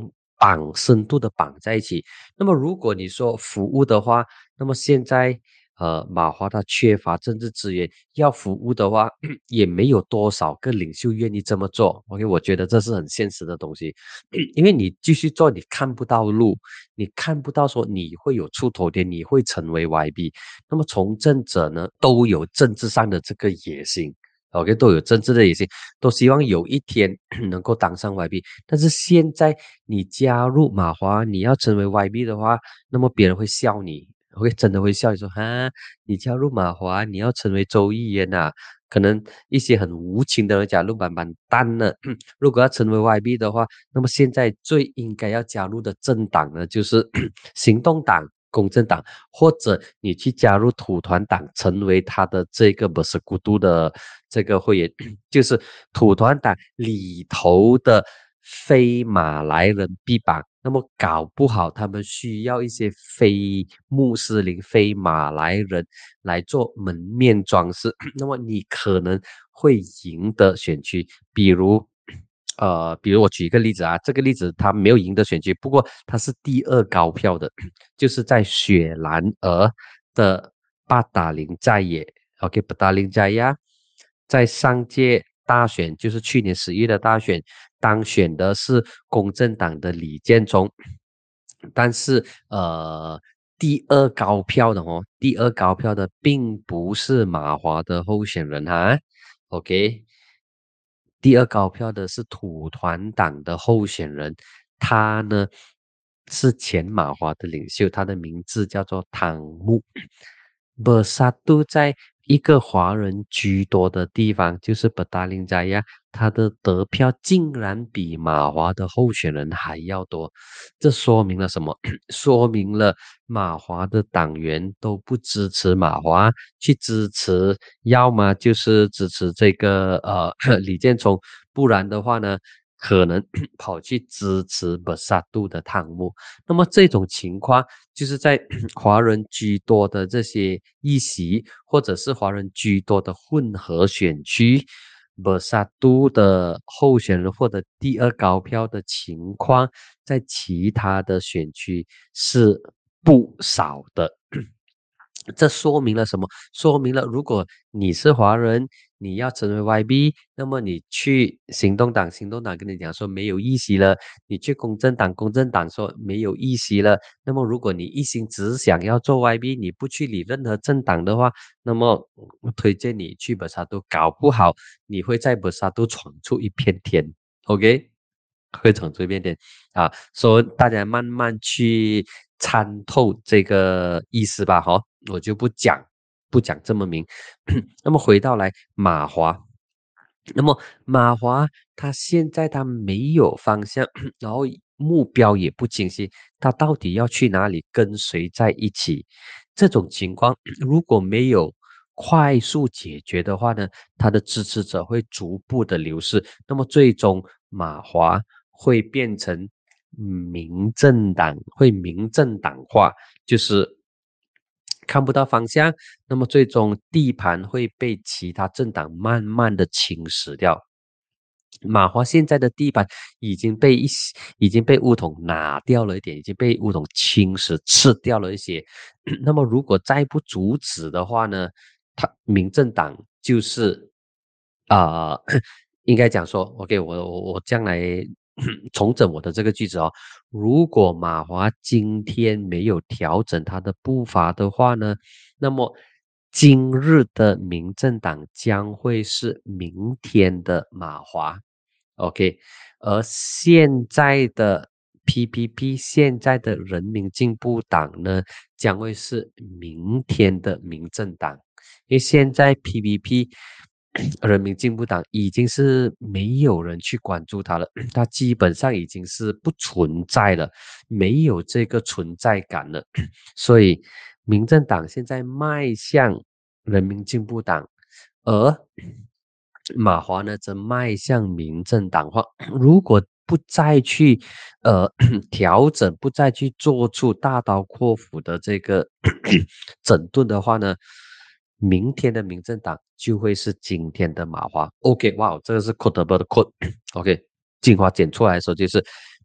绑深度的绑在一起。那么如果你说服务的话，那么现在呃马华他缺乏政治资源，要服务的话也没有多少个领袖愿意这么做。OK，我觉得这是很现实的东西，因为你继续做，你看不到路，你看不到说你会有出头天，你会成为 Y B。那么从政者呢，都有政治上的这个野心。OK，都有政治的野心，都希望有一天能够当上 Y B。但是现在你加入马华，你要成为 Y B 的话，那么别人会笑你，OK，真的会笑你说哈，你加入马华，你要成为州议员呐、可能一些很无情的人加入板板蛋了。如果要成为 Y B 的话，那么现在最应该要加入的政党呢，就是行动党、公正党，或者你去加入土团党，成为他的这个不是孤独的这个会员，就是土团党里头的非马来人臂膀。那么搞不好他们需要一些非穆斯林、非马来人来做门面装饰，那么你可能会赢得选区。比如呃，比如我举一个例子啊，这个例子他没有赢得选区，不过他是第二高票的，就是在雪兰莪的巴达林寨也 OK， 巴达林寨呀，在上届大选，就是去年十一月的大选，当选的是公正党的李建忠，但是呃，第二高票的哦，第二高票的并不是马华的候选人哈，OK。第二高票的是土团党的候选人，他呢是前马华的领袖，他的名字叫做汤木。b 萨杜在一个华人居多的地方，就是布达林扎亚，他的得票竟然比马华的候选人还要多，这说明了什么？说明了马华的党员都不支持马华，去支持，要么就是支持这个呃李建聪，不然的话呢，可能跑去支持巴萨杜的汤姆。那么这种情况就是在华人居多的这些议席，或者是华人居多的混合选区，巴萨杜的候选人获得第二高票的情况，在其他的选区是不少的。这说明了什么？说明了如果你是华人，你要成为 Y B， 那么你去行动党，行动党跟你讲说没有议席了；你去公正党，公正党说没有议席了。那么如果你一心只想要做 Y B， 你不去理任何政党的话，那么我推荐你去博沙都，搞不好你会在博沙都闯出一片天。OK？会闯出一片天啊，所以大家慢慢去参透这个意思吧，哈，我就不讲不讲这么明。那么回到来马华，那么马华他现在他没有方向，然后目标也不清晰，他到底要去哪里，跟谁在一起？这种情况如果没有快速解决的话呢，他的支持者会逐步的流失，那么最终马华会变成民政党，会民政党化，就是看不到方向，那么最终地盘会被其他政党慢慢的侵蚀掉。马华现在的地板已经被一已经被乌统拿掉了一点，已经被乌统侵蚀吃掉了一些。那么如果再不阻止的话呢，他民政党就是啊、呃，应该讲说，OK，我我我将来重整我的这个句子哦。如果马华今天没有调整他的步伐的话呢，那么今日的民政党将会是明天的马华。OK，而现在的 P P P， 现在的人民进步党呢，将会是明天的民政党，因为现在 P P P 人民进步党已经是没有人去关注它了，它基本上已经是不存在了，没有这个存在感了，所以民政党现在迈向人民进步党，而马华呢则迈向民政党化。如果不再去呃调整，不再去做出大刀阔斧的这个整顿的话呢，明天的民政党就会是今天的马华。OK， 哇，这个是 quotable 的 quote。OK，精华剪出来的时候就是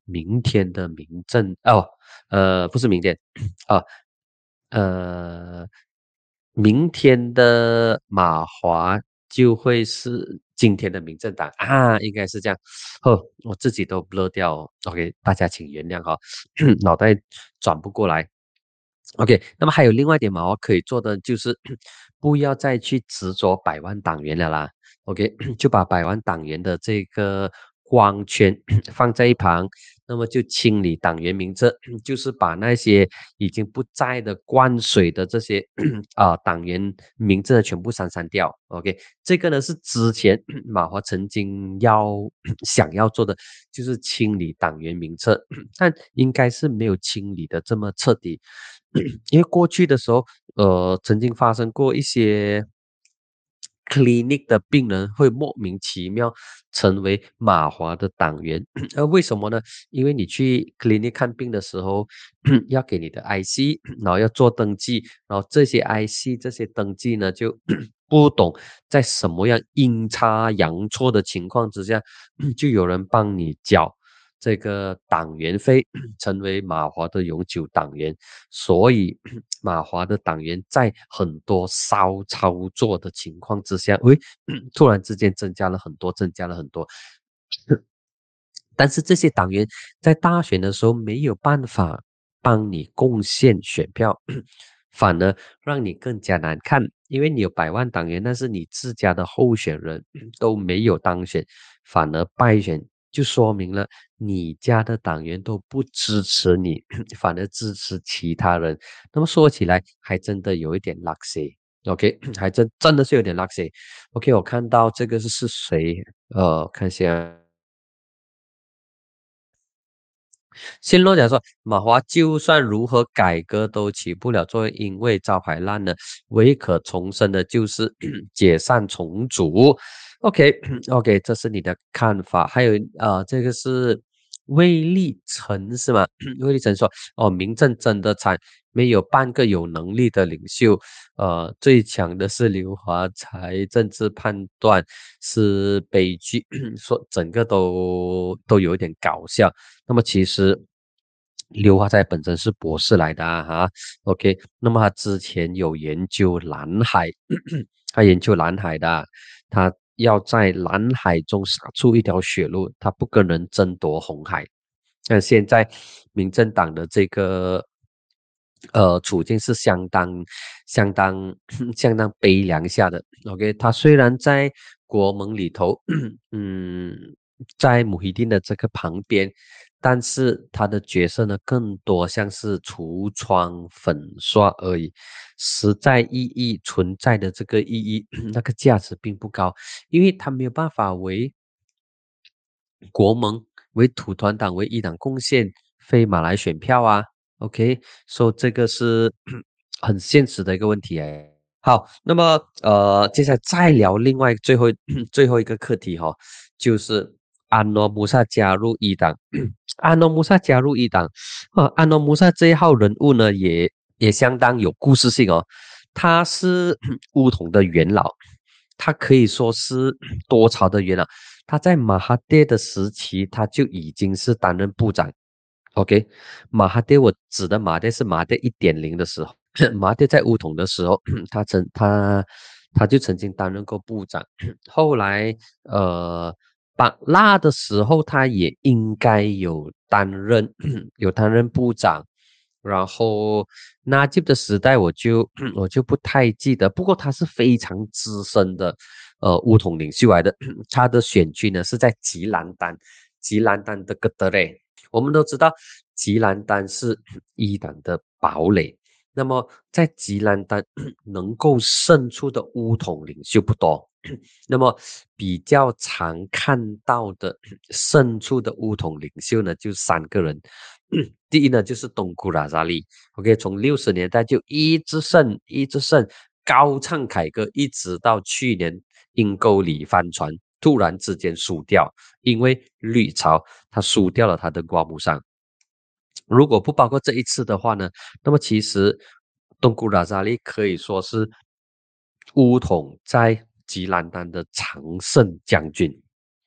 明天的民政哦，呃，不是明天啊，呃，明天的马华就会是今天的民政党啊，应该是这样。哦，我自己都 blur 掉哦，OK，大家请原谅哈、哦，脑袋转不过来。OK，那么还有另外一点嘛，我可以做的就是不要再去执着百万党员了啦。OK，就把百万党员的这个光圈放在一旁，那么就清理党员名册，就是把那些已经不在的灌水的这些啊、党员名字全部删删掉。OK，这个呢是之前马华曾经要想要做的，就是清理党员名册，但应该是没有清理的这么彻底。因为过去的时候，呃，曾经发生过一些 clinic 的病人会莫名其妙成为马华的党员，呃，为什么呢？因为你去 clinic 看病的时候，要给你的 I C，然后要做登记，然后这些 I C 这些登记呢，就不懂在什么样阴差阳错的情况之下，就有人帮你缴这个党员费，成为马华的永久党员。所以马华的党员在很多骚操作的情况之下，喂，突然之间增加了很多，增加了很多。但是这些党员在大选的时候没有办法帮你贡献选票，反而让你更加难看，因为你有百万党员，但是你自家的候选人都没有当选，反而败选，就说明了你家的党员都不支持你，反而支持其他人。那么说起来，还真的有一点 lucky。OK，还真真的是有点 lucky。OK，我看到这个是是谁？呃，看一下。新洛讲说，马华就算如何改革都起不了作用，因为招牌烂了，唯可重生的就是解散重组。OK OK，这是你的看法。还有呃，这个是魏立成是吗？魏立成说，哦，民政真的惨，没有半个有能力的领袖。呃，最强的是刘华才，政治判断是悲剧，说整个都都有一点搞笑。那么其实刘华在本身是博士来的啊哈，OK，那么他之前有研究蓝海，他研究蓝海的啊，他要在蓝海中杀出一条血路，他不跟人争夺红海。那现在民政党的这个呃处境是相当相当相当悲凉下的。OK，他虽然在国盟里头，嗯，在姆希丁的这个旁边，但是他的角色呢，更多像是橱窗粉刷而已，实在意义存在的这个意义，那个价值并不高，因为他没有办法为国盟、为土团党、为一党贡献非马来选票啊。OK，所以这个是很现实的一个问题哎。好，那么呃，接下来再聊另外最后最后一个课题哈、哦，就是安诺穆萨加入一党。安诺穆萨加入一党，啊，安诺穆萨这一号人物呢，也也相当有故事性哦。他是乌统的元老，他可以说是多朝的元老。他在马哈蒂的时期，他就已经是担任部长。OK，马哈蒂，我指的马蒂是马蒂一点零的时候，马蒂在乌统的时候，他曾他他就曾经担任过部长。后来呃，巴拉的时候，他也应该有担任有担任部长。然后纳吉的时代，我就我就不太记得，不过他是非常资深的呃乌统领袖来的。他的选区呢是在吉兰丹，吉兰丹的格德雷。我们都知道吉兰丹是伊党的堡垒，那么在吉兰丹能够胜出的巫统领袖不多，那么比较常看到的胜出的巫统领袖呢，就三个人。第一呢，就是东姑拉扎利，OK，从六十年代就一直胜，一直胜，高唱凯歌，一直到去年阴沟里翻船，突然之间输掉，因为绿潮他输掉了他的瓜木桑。如果不包括这一次的话呢，那么其实东姑拉扎利可以说是乌统在吉兰丹的常胜将军。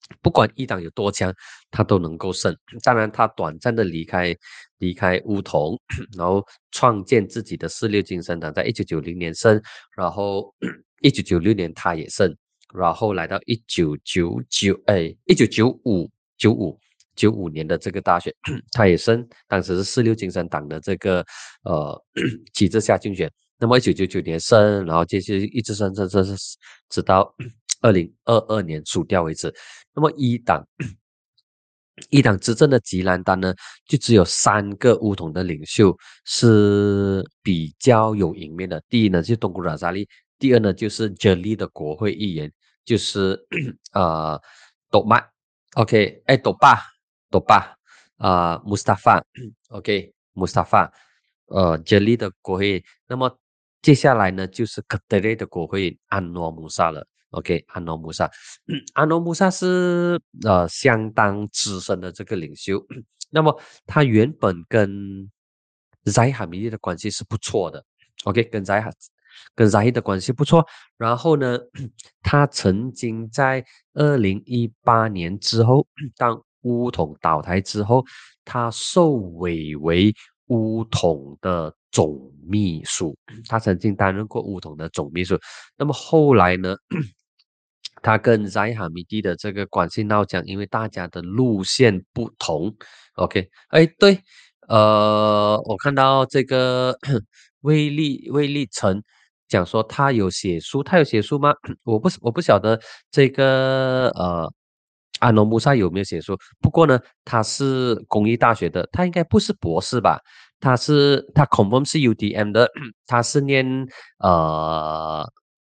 不管一党有多强，他都能够胜。当然，他短暂的离开离开巫统，然后创建自己的四六精神党，在一九九零年胜，然后一九九六年他也胜，然后来到一九九九哎一九九五九五九五年的这个大选，他也胜，当时是四六精神党的这个呃旗帜下竞选。那么一九九九年胜，然后接着一直胜胜胜胜，直到二零二二年输掉为止。那么一党一党执政的吉兰丹呢，就只有三个巫统的领袖是比较有赢面的。第一呢就是东古拉扎利，第二呢就是 Jeli 的国会议员，就是呃斗麦，OK， 哎斗巴斗巴啊 Mustafa，OK Mustafa，呃 Jeli 的国会，那么接下来呢就是 Ketere 的国会安诺姆萨了。OK， 安诺姆萨，安诺姆萨是呃相当资深的这个领袖，那么他原本跟扎哈米蒂的关系是不错的，OK，跟扎哈跟扎伊的关系不错。然后呢，他曾经在二零一八年之后，当巫统倒台之后，他受委为巫统的总秘书，他曾经担任过巫统的总秘书。那么后来呢？他跟扎哈米蒂的这个关系闹僵，因为大家的路线不同。OK，哎，对，呃，我看到这个魏立魏立成讲说他有写书，他有写书吗？我不我不晓得这个呃阿诺穆萨有没有写书，不过呢，他是公益大学的，他应该不是博士吧？他是他 confirm 是 U D M 的，他是念呃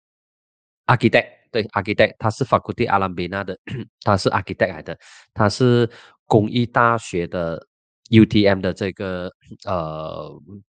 architect，对 architect，他是 Faculty Alam Bina 的，他是 architect 来的，他是工艺大学的 U T M 的这个呃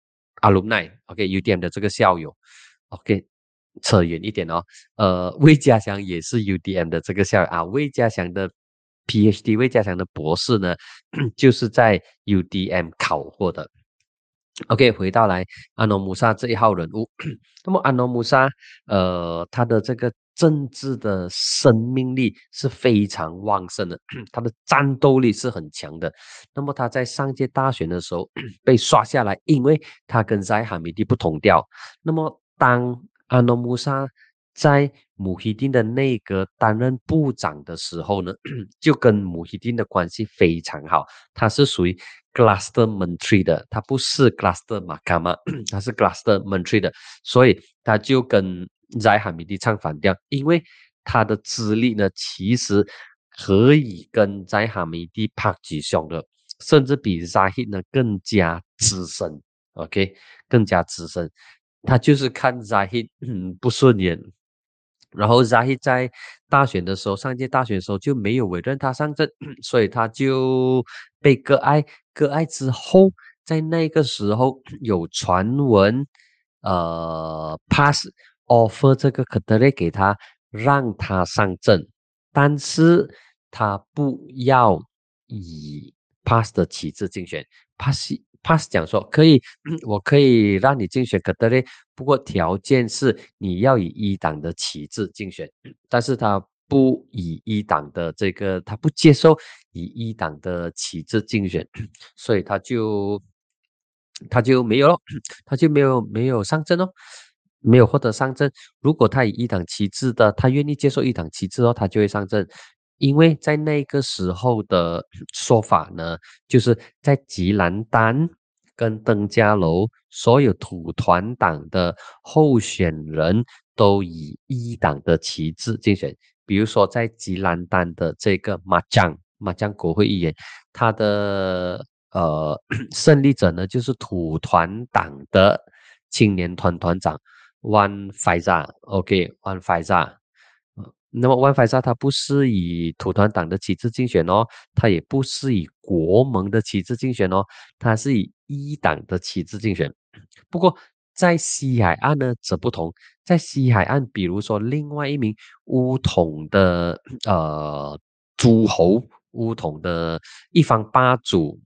alumni，OK，U T M 的这个校友，OK，扯远一点哦，呃，魏家祥也是 U D M 的这个校友啊，魏家祥的 PhD， 魏家祥的博士呢，就是在 U D M 考获的。OK，回到来安诺姆萨这一号人物，那么安诺姆萨，呃，他的这个政治的生命力是非常旺盛的，他的战斗力是很强的。那么他在上届大选的时候被刷下来，因为他跟在哈米蒂不同调。那么当安诺姆萨在姆希丁的内阁担任部长的时候呢，就跟姆希丁的关系非常好。他是属于 Cluster Menteri 的，他不是 Cluster Mahkamah，他是 Cluster Menteri 的，所以他就跟在哈米蒂唱反调，因为他的资历呢，其实可以跟在哈米蒂拍几兄的，甚至比 Zahid 呢更加资深 ，OK， 更加资深。他就是看 Zahid 嗯不顺眼，然后 Zahid 在大选的时候，上届大选的时候就没有委任他上阵，所以他就被割爱。割爱之后，在那个时候有传闻，呃，pass offer 这个 Ketere 给他，让他上阵，但是他不要以 pass 的旗帜竞选。pass pass 讲说可以，我可以让你竞选 Ketere，不过条件是你要以一党的旗帜竞选，但是他不以一党的这个，他不接受以一党的旗帜竞选，所以他就他就没有咯，他就没有没有上阵哦，没有获得上阵。如果他以一党旗帜的，他愿意接受一党旗帜哦，他就会上阵。因为在那个时候的说法呢，就是在吉兰丹跟登嘉楼所有土团党的候选人都以一党的旗帜竞选。比如说在吉兰丹的这个马江马江国会议员，他的呃胜利者呢就是土团党的青年团团长 Wan Faizal，OK，Wan Faizal。那么 Wan Faizal 他不是以土团党的旗帜竞选哦，他也不是以国盟的旗帜竞选哦，他是以一党的旗帜竞选。不过在西海岸呢则不同，在西海岸，比如说另外一名巫统的呃诸侯，巫统的一方霸主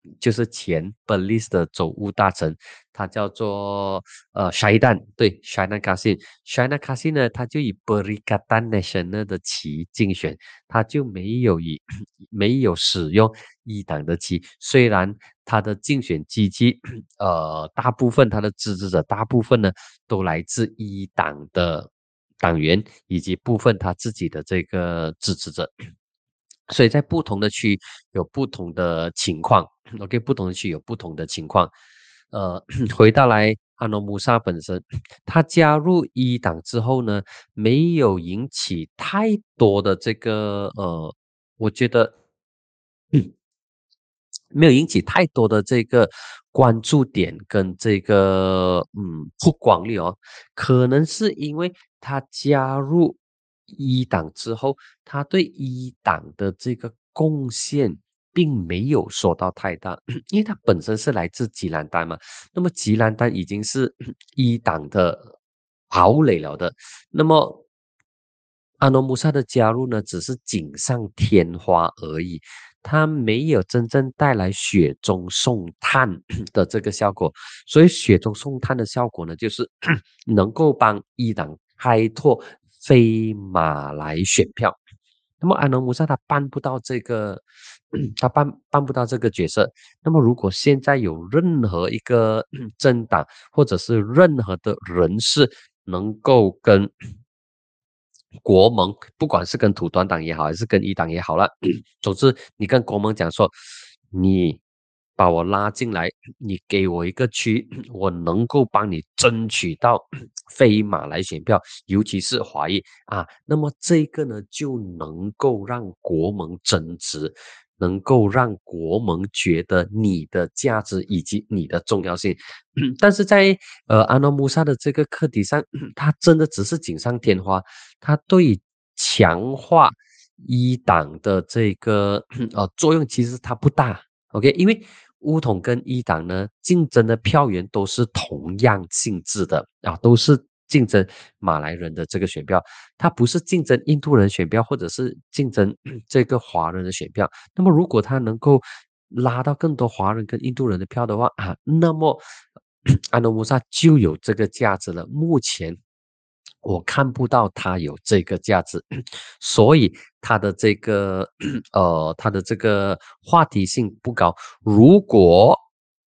就是前 Belize 的州务大臣，他叫做呃 Shaidan，对 Shaidan Kassim，Shaidan Kassim 呢，他就以 Perikatan Nasional 的旗竞选，他就没有以没有使用一党的旗，虽然他的竞选基金，呃，大部分他的支持者大部分呢都来自一党的党员，以及部分他自己的这个支持者。所以在不同的区有不同的情况，OK，不同的区有不同的情况。呃，回到来阿诺姆萨本身，他加入一党之后呢，没有引起太多的这个呃，我觉得。没有引起太多的这个关注点跟这个嗯曝光率哦，可能是因为他加入一党之后，他对一党的这个贡献并没有说到太大，因为他本身是来自吉兰丹嘛，那么吉兰丹已经是一党的堡垒了的，那么阿诺姆萨的加入呢，只是锦上添花而已，它没有真正带来雪中送炭的这个效果。所以雪中送炭的效果呢，就是能够帮伊朗开拓非马来选票。那么安农姆萨他办不到这个，他办办不到这个角色。那么如果现在有任何一个政党或者是任何的人士能够跟国盟，不管是跟土团党也好，还是跟一党也好了，总之你跟国盟讲说，你把我拉进来，你给我一个区，我能够帮你争取到非马来选票，尤其是华裔啊，那么这个呢就能够让国盟增值，能够让国盟觉得你的价值以及你的重要性。但是在呃阿诺穆萨的这个课题上，他真的只是锦上添花，他对强化一党的这个呃作用其实它不大。OK，因为乌统跟一党呢竞争的票源都是同样性质的啊，都是竞争马来人的这个选票，它不是竞争印度人选票或者是竞争这个华人的选票。那么如果他能够拉到更多华人跟印度人的票的话啊，那么安诺穆萨就有这个价值了。目前我看不到它有这个价值，所以它的这个呃，它的这个话题性不高。如果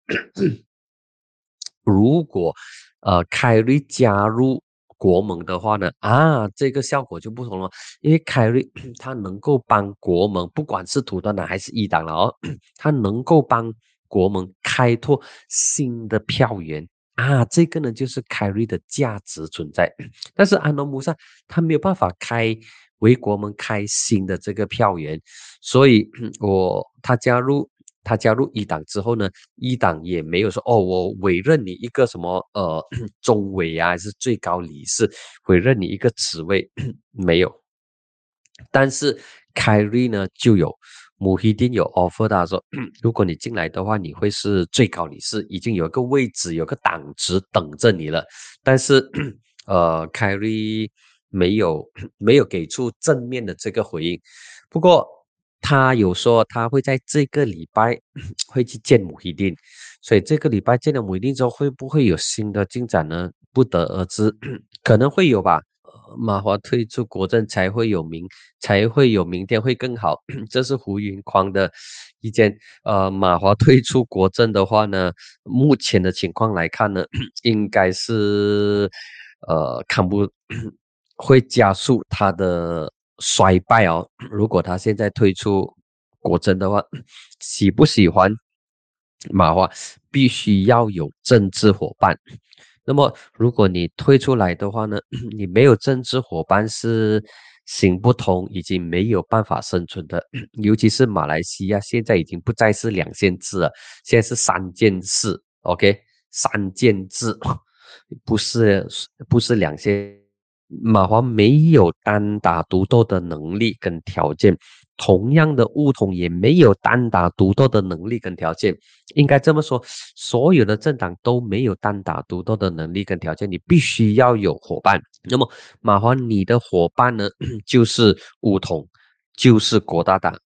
如果呃凯瑞加入国盟的话呢，啊，这个效果就不同了，因为凯瑞他能够帮国盟，不管是土团党还是一党了哦，他能够帮国盟开拓新的票源。啊，这个呢就是凯瑞的价值存在，但是安诺姆萨他没有办法开为国盟开新的这个票源，所以我他加入他加入一党之后呢，一党也没有说哦，我委任你一个什么呃中委啊，还是最高理事，委任你一个职位没有。但是凯瑞呢就有，穆希丁有 offer 他说，如果你进来的话，你会是最高理事，已经有一个位置，有个党职等着你了。但是呃，凯瑞没有没有给出正面的这个回应。不过他有说他会在这个礼拜会去见穆希丁，所以这个礼拜见了穆希丁之后，会不会有新的进展呢？不得而知，可能会有吧。马华退出国政才会有明，才会有明天会更好，这是胡云匡的意见。呃，马华退出国政的话呢，目前的情况来看呢，应该是呃看不会加速他的衰败哦。如果他现在退出国政的话，喜不喜欢马华，必须要有政治伙伴。那么，如果你退出来的话呢，你没有政治伙伴是行不通，已经没有办法生存的。尤其是马来西亚现在已经不再是两县制了，现在是三件事。OK，三件制，不是不是两县。马华没有单打独斗的能力跟条件，同样的乌统也没有单打独斗的能力跟条件。应该这么说，所有的政党都没有单打独斗的能力跟条件，你必须要有伙伴。那么马华，你的伙伴呢，就是乌统，就是国大党。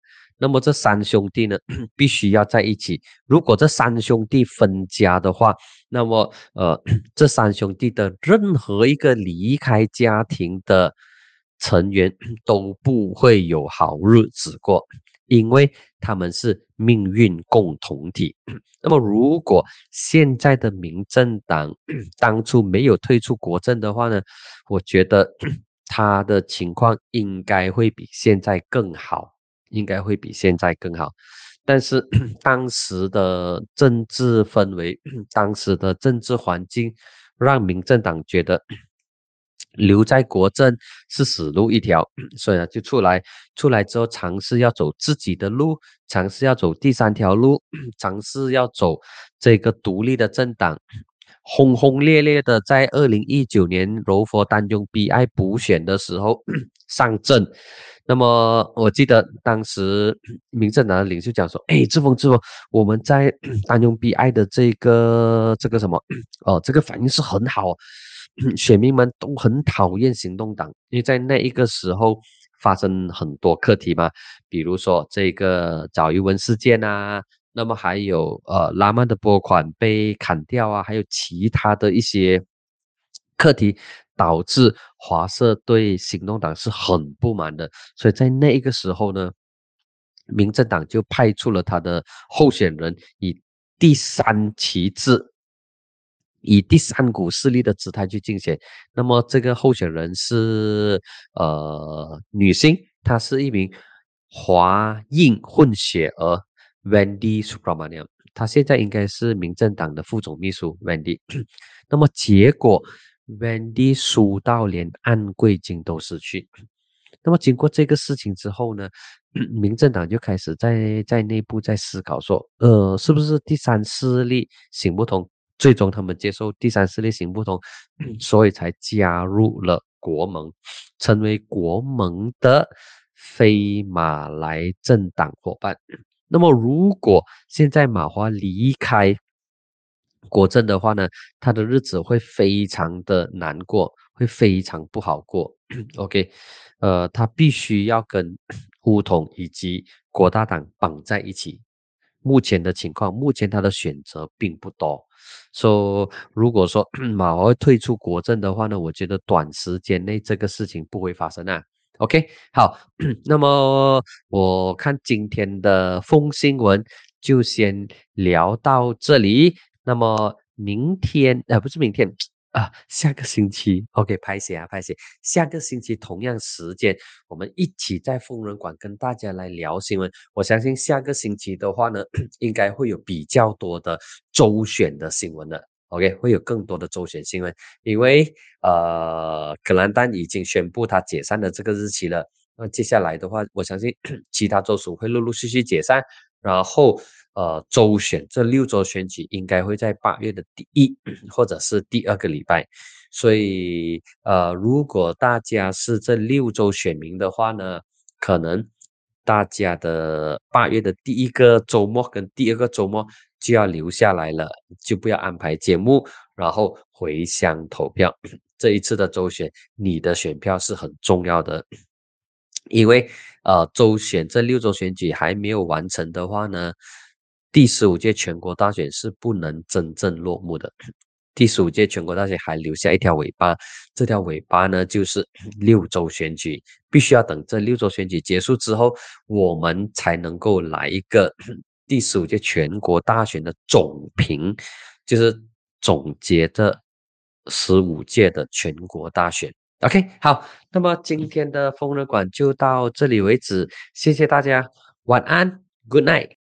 那么这三兄弟呢，必须要在一起。如果这三兄弟分家的话，那么呃，这三兄弟的任何一个离开家庭的成员都不会有好日子过，因为他们是命运共同体。那么，如果现在的民政党当初没有退出国政的话呢，我觉得他的情况应该会比现在更好，应该会比现在更好。但是当时的政治氛围，当时的政治环境，让民政党觉得留在国政是死路一条，所以呢就出来，出来之后尝试要走自己的路，尝试要走第三条路，尝试要走这个独立的政党，轰轰烈烈的在二零一九年柔佛丹中 B I 补选的时候上阵。那么我记得当时民政党的领袖讲说：“哎，志峰，志峰，我们在丹中 B I 的这个这个什么哦，这个反应是很好。”选民们都很讨厌行动党，因为在那一个时候发生很多课题嘛，比如说这个找余文事件啊，那么还有呃拉曼的拨款被砍掉啊，还有其他的一些课题，导致华社对行动党是很不满的，所以在那一个时候呢，民政党就派出了他的候选人，以第三旗帜。以第三股势力的姿态去竞选，那么这个候选人是呃女性，她是一名华印混血儿 Wendy Subramaniam，她现在应该是民政党的副总秘书 Wendy。那么结果 Wendy 输到连安贵金都失去。那么经过这个事情之后呢，民政党就开始在在内部在思考说，呃，是不是第三势力行不通？最终他们接受第三势力行不通，所以才加入了国盟，成为国盟的非马来政党伙伴。那么如果现在马华离开国政的话呢，他的日子会非常的难过，会非常不好过。OK，呃，他必须要跟巫统以及国大党绑在一起。目前的情况，目前他的选择并不多。说、so, 如果说马华会退出国政的话呢，我觉得短时间内这个事情不会发生啊。OK， 好，那么我看今天的风新闻就先聊到这里。那么明天，呃，不是明天啊，下个星期 ，OK， 拍写啊，拍写，下个星期同样时间，我们一起在疯人馆跟大家来聊新闻。我相信下个星期的话呢，应该会有比较多的州选的新闻的。OK， 会有更多的州选新闻，因为呃，格兰丹已经宣布它解散的这个日期了。那接下来的话，我相信其他州属会陆陆续续解散，然后呃，州选这六州选举应该会在八月的第一或者是第二个礼拜。所以呃，如果大家是这六州选民的话呢，可能大家的八月的第一个周末跟第二个周末就要留下来了，就不要安排节目，然后回乡投票。这一次的州选，你的选票是很重要的，因为呃，州选这六州选举还没有完成的话呢，第十五届全国大选是不能真正落幕的。第十五届全国大选还留下一条尾巴，这条尾巴呢就是六州选举，必须要等这六州选举结束之后，我们才能够来一个第十五届全国大选的总评，就是总结这十五届的全国大选。OK， 好，那么今天的疯人馆就到这里为止，谢谢大家，晚安 ，Good night。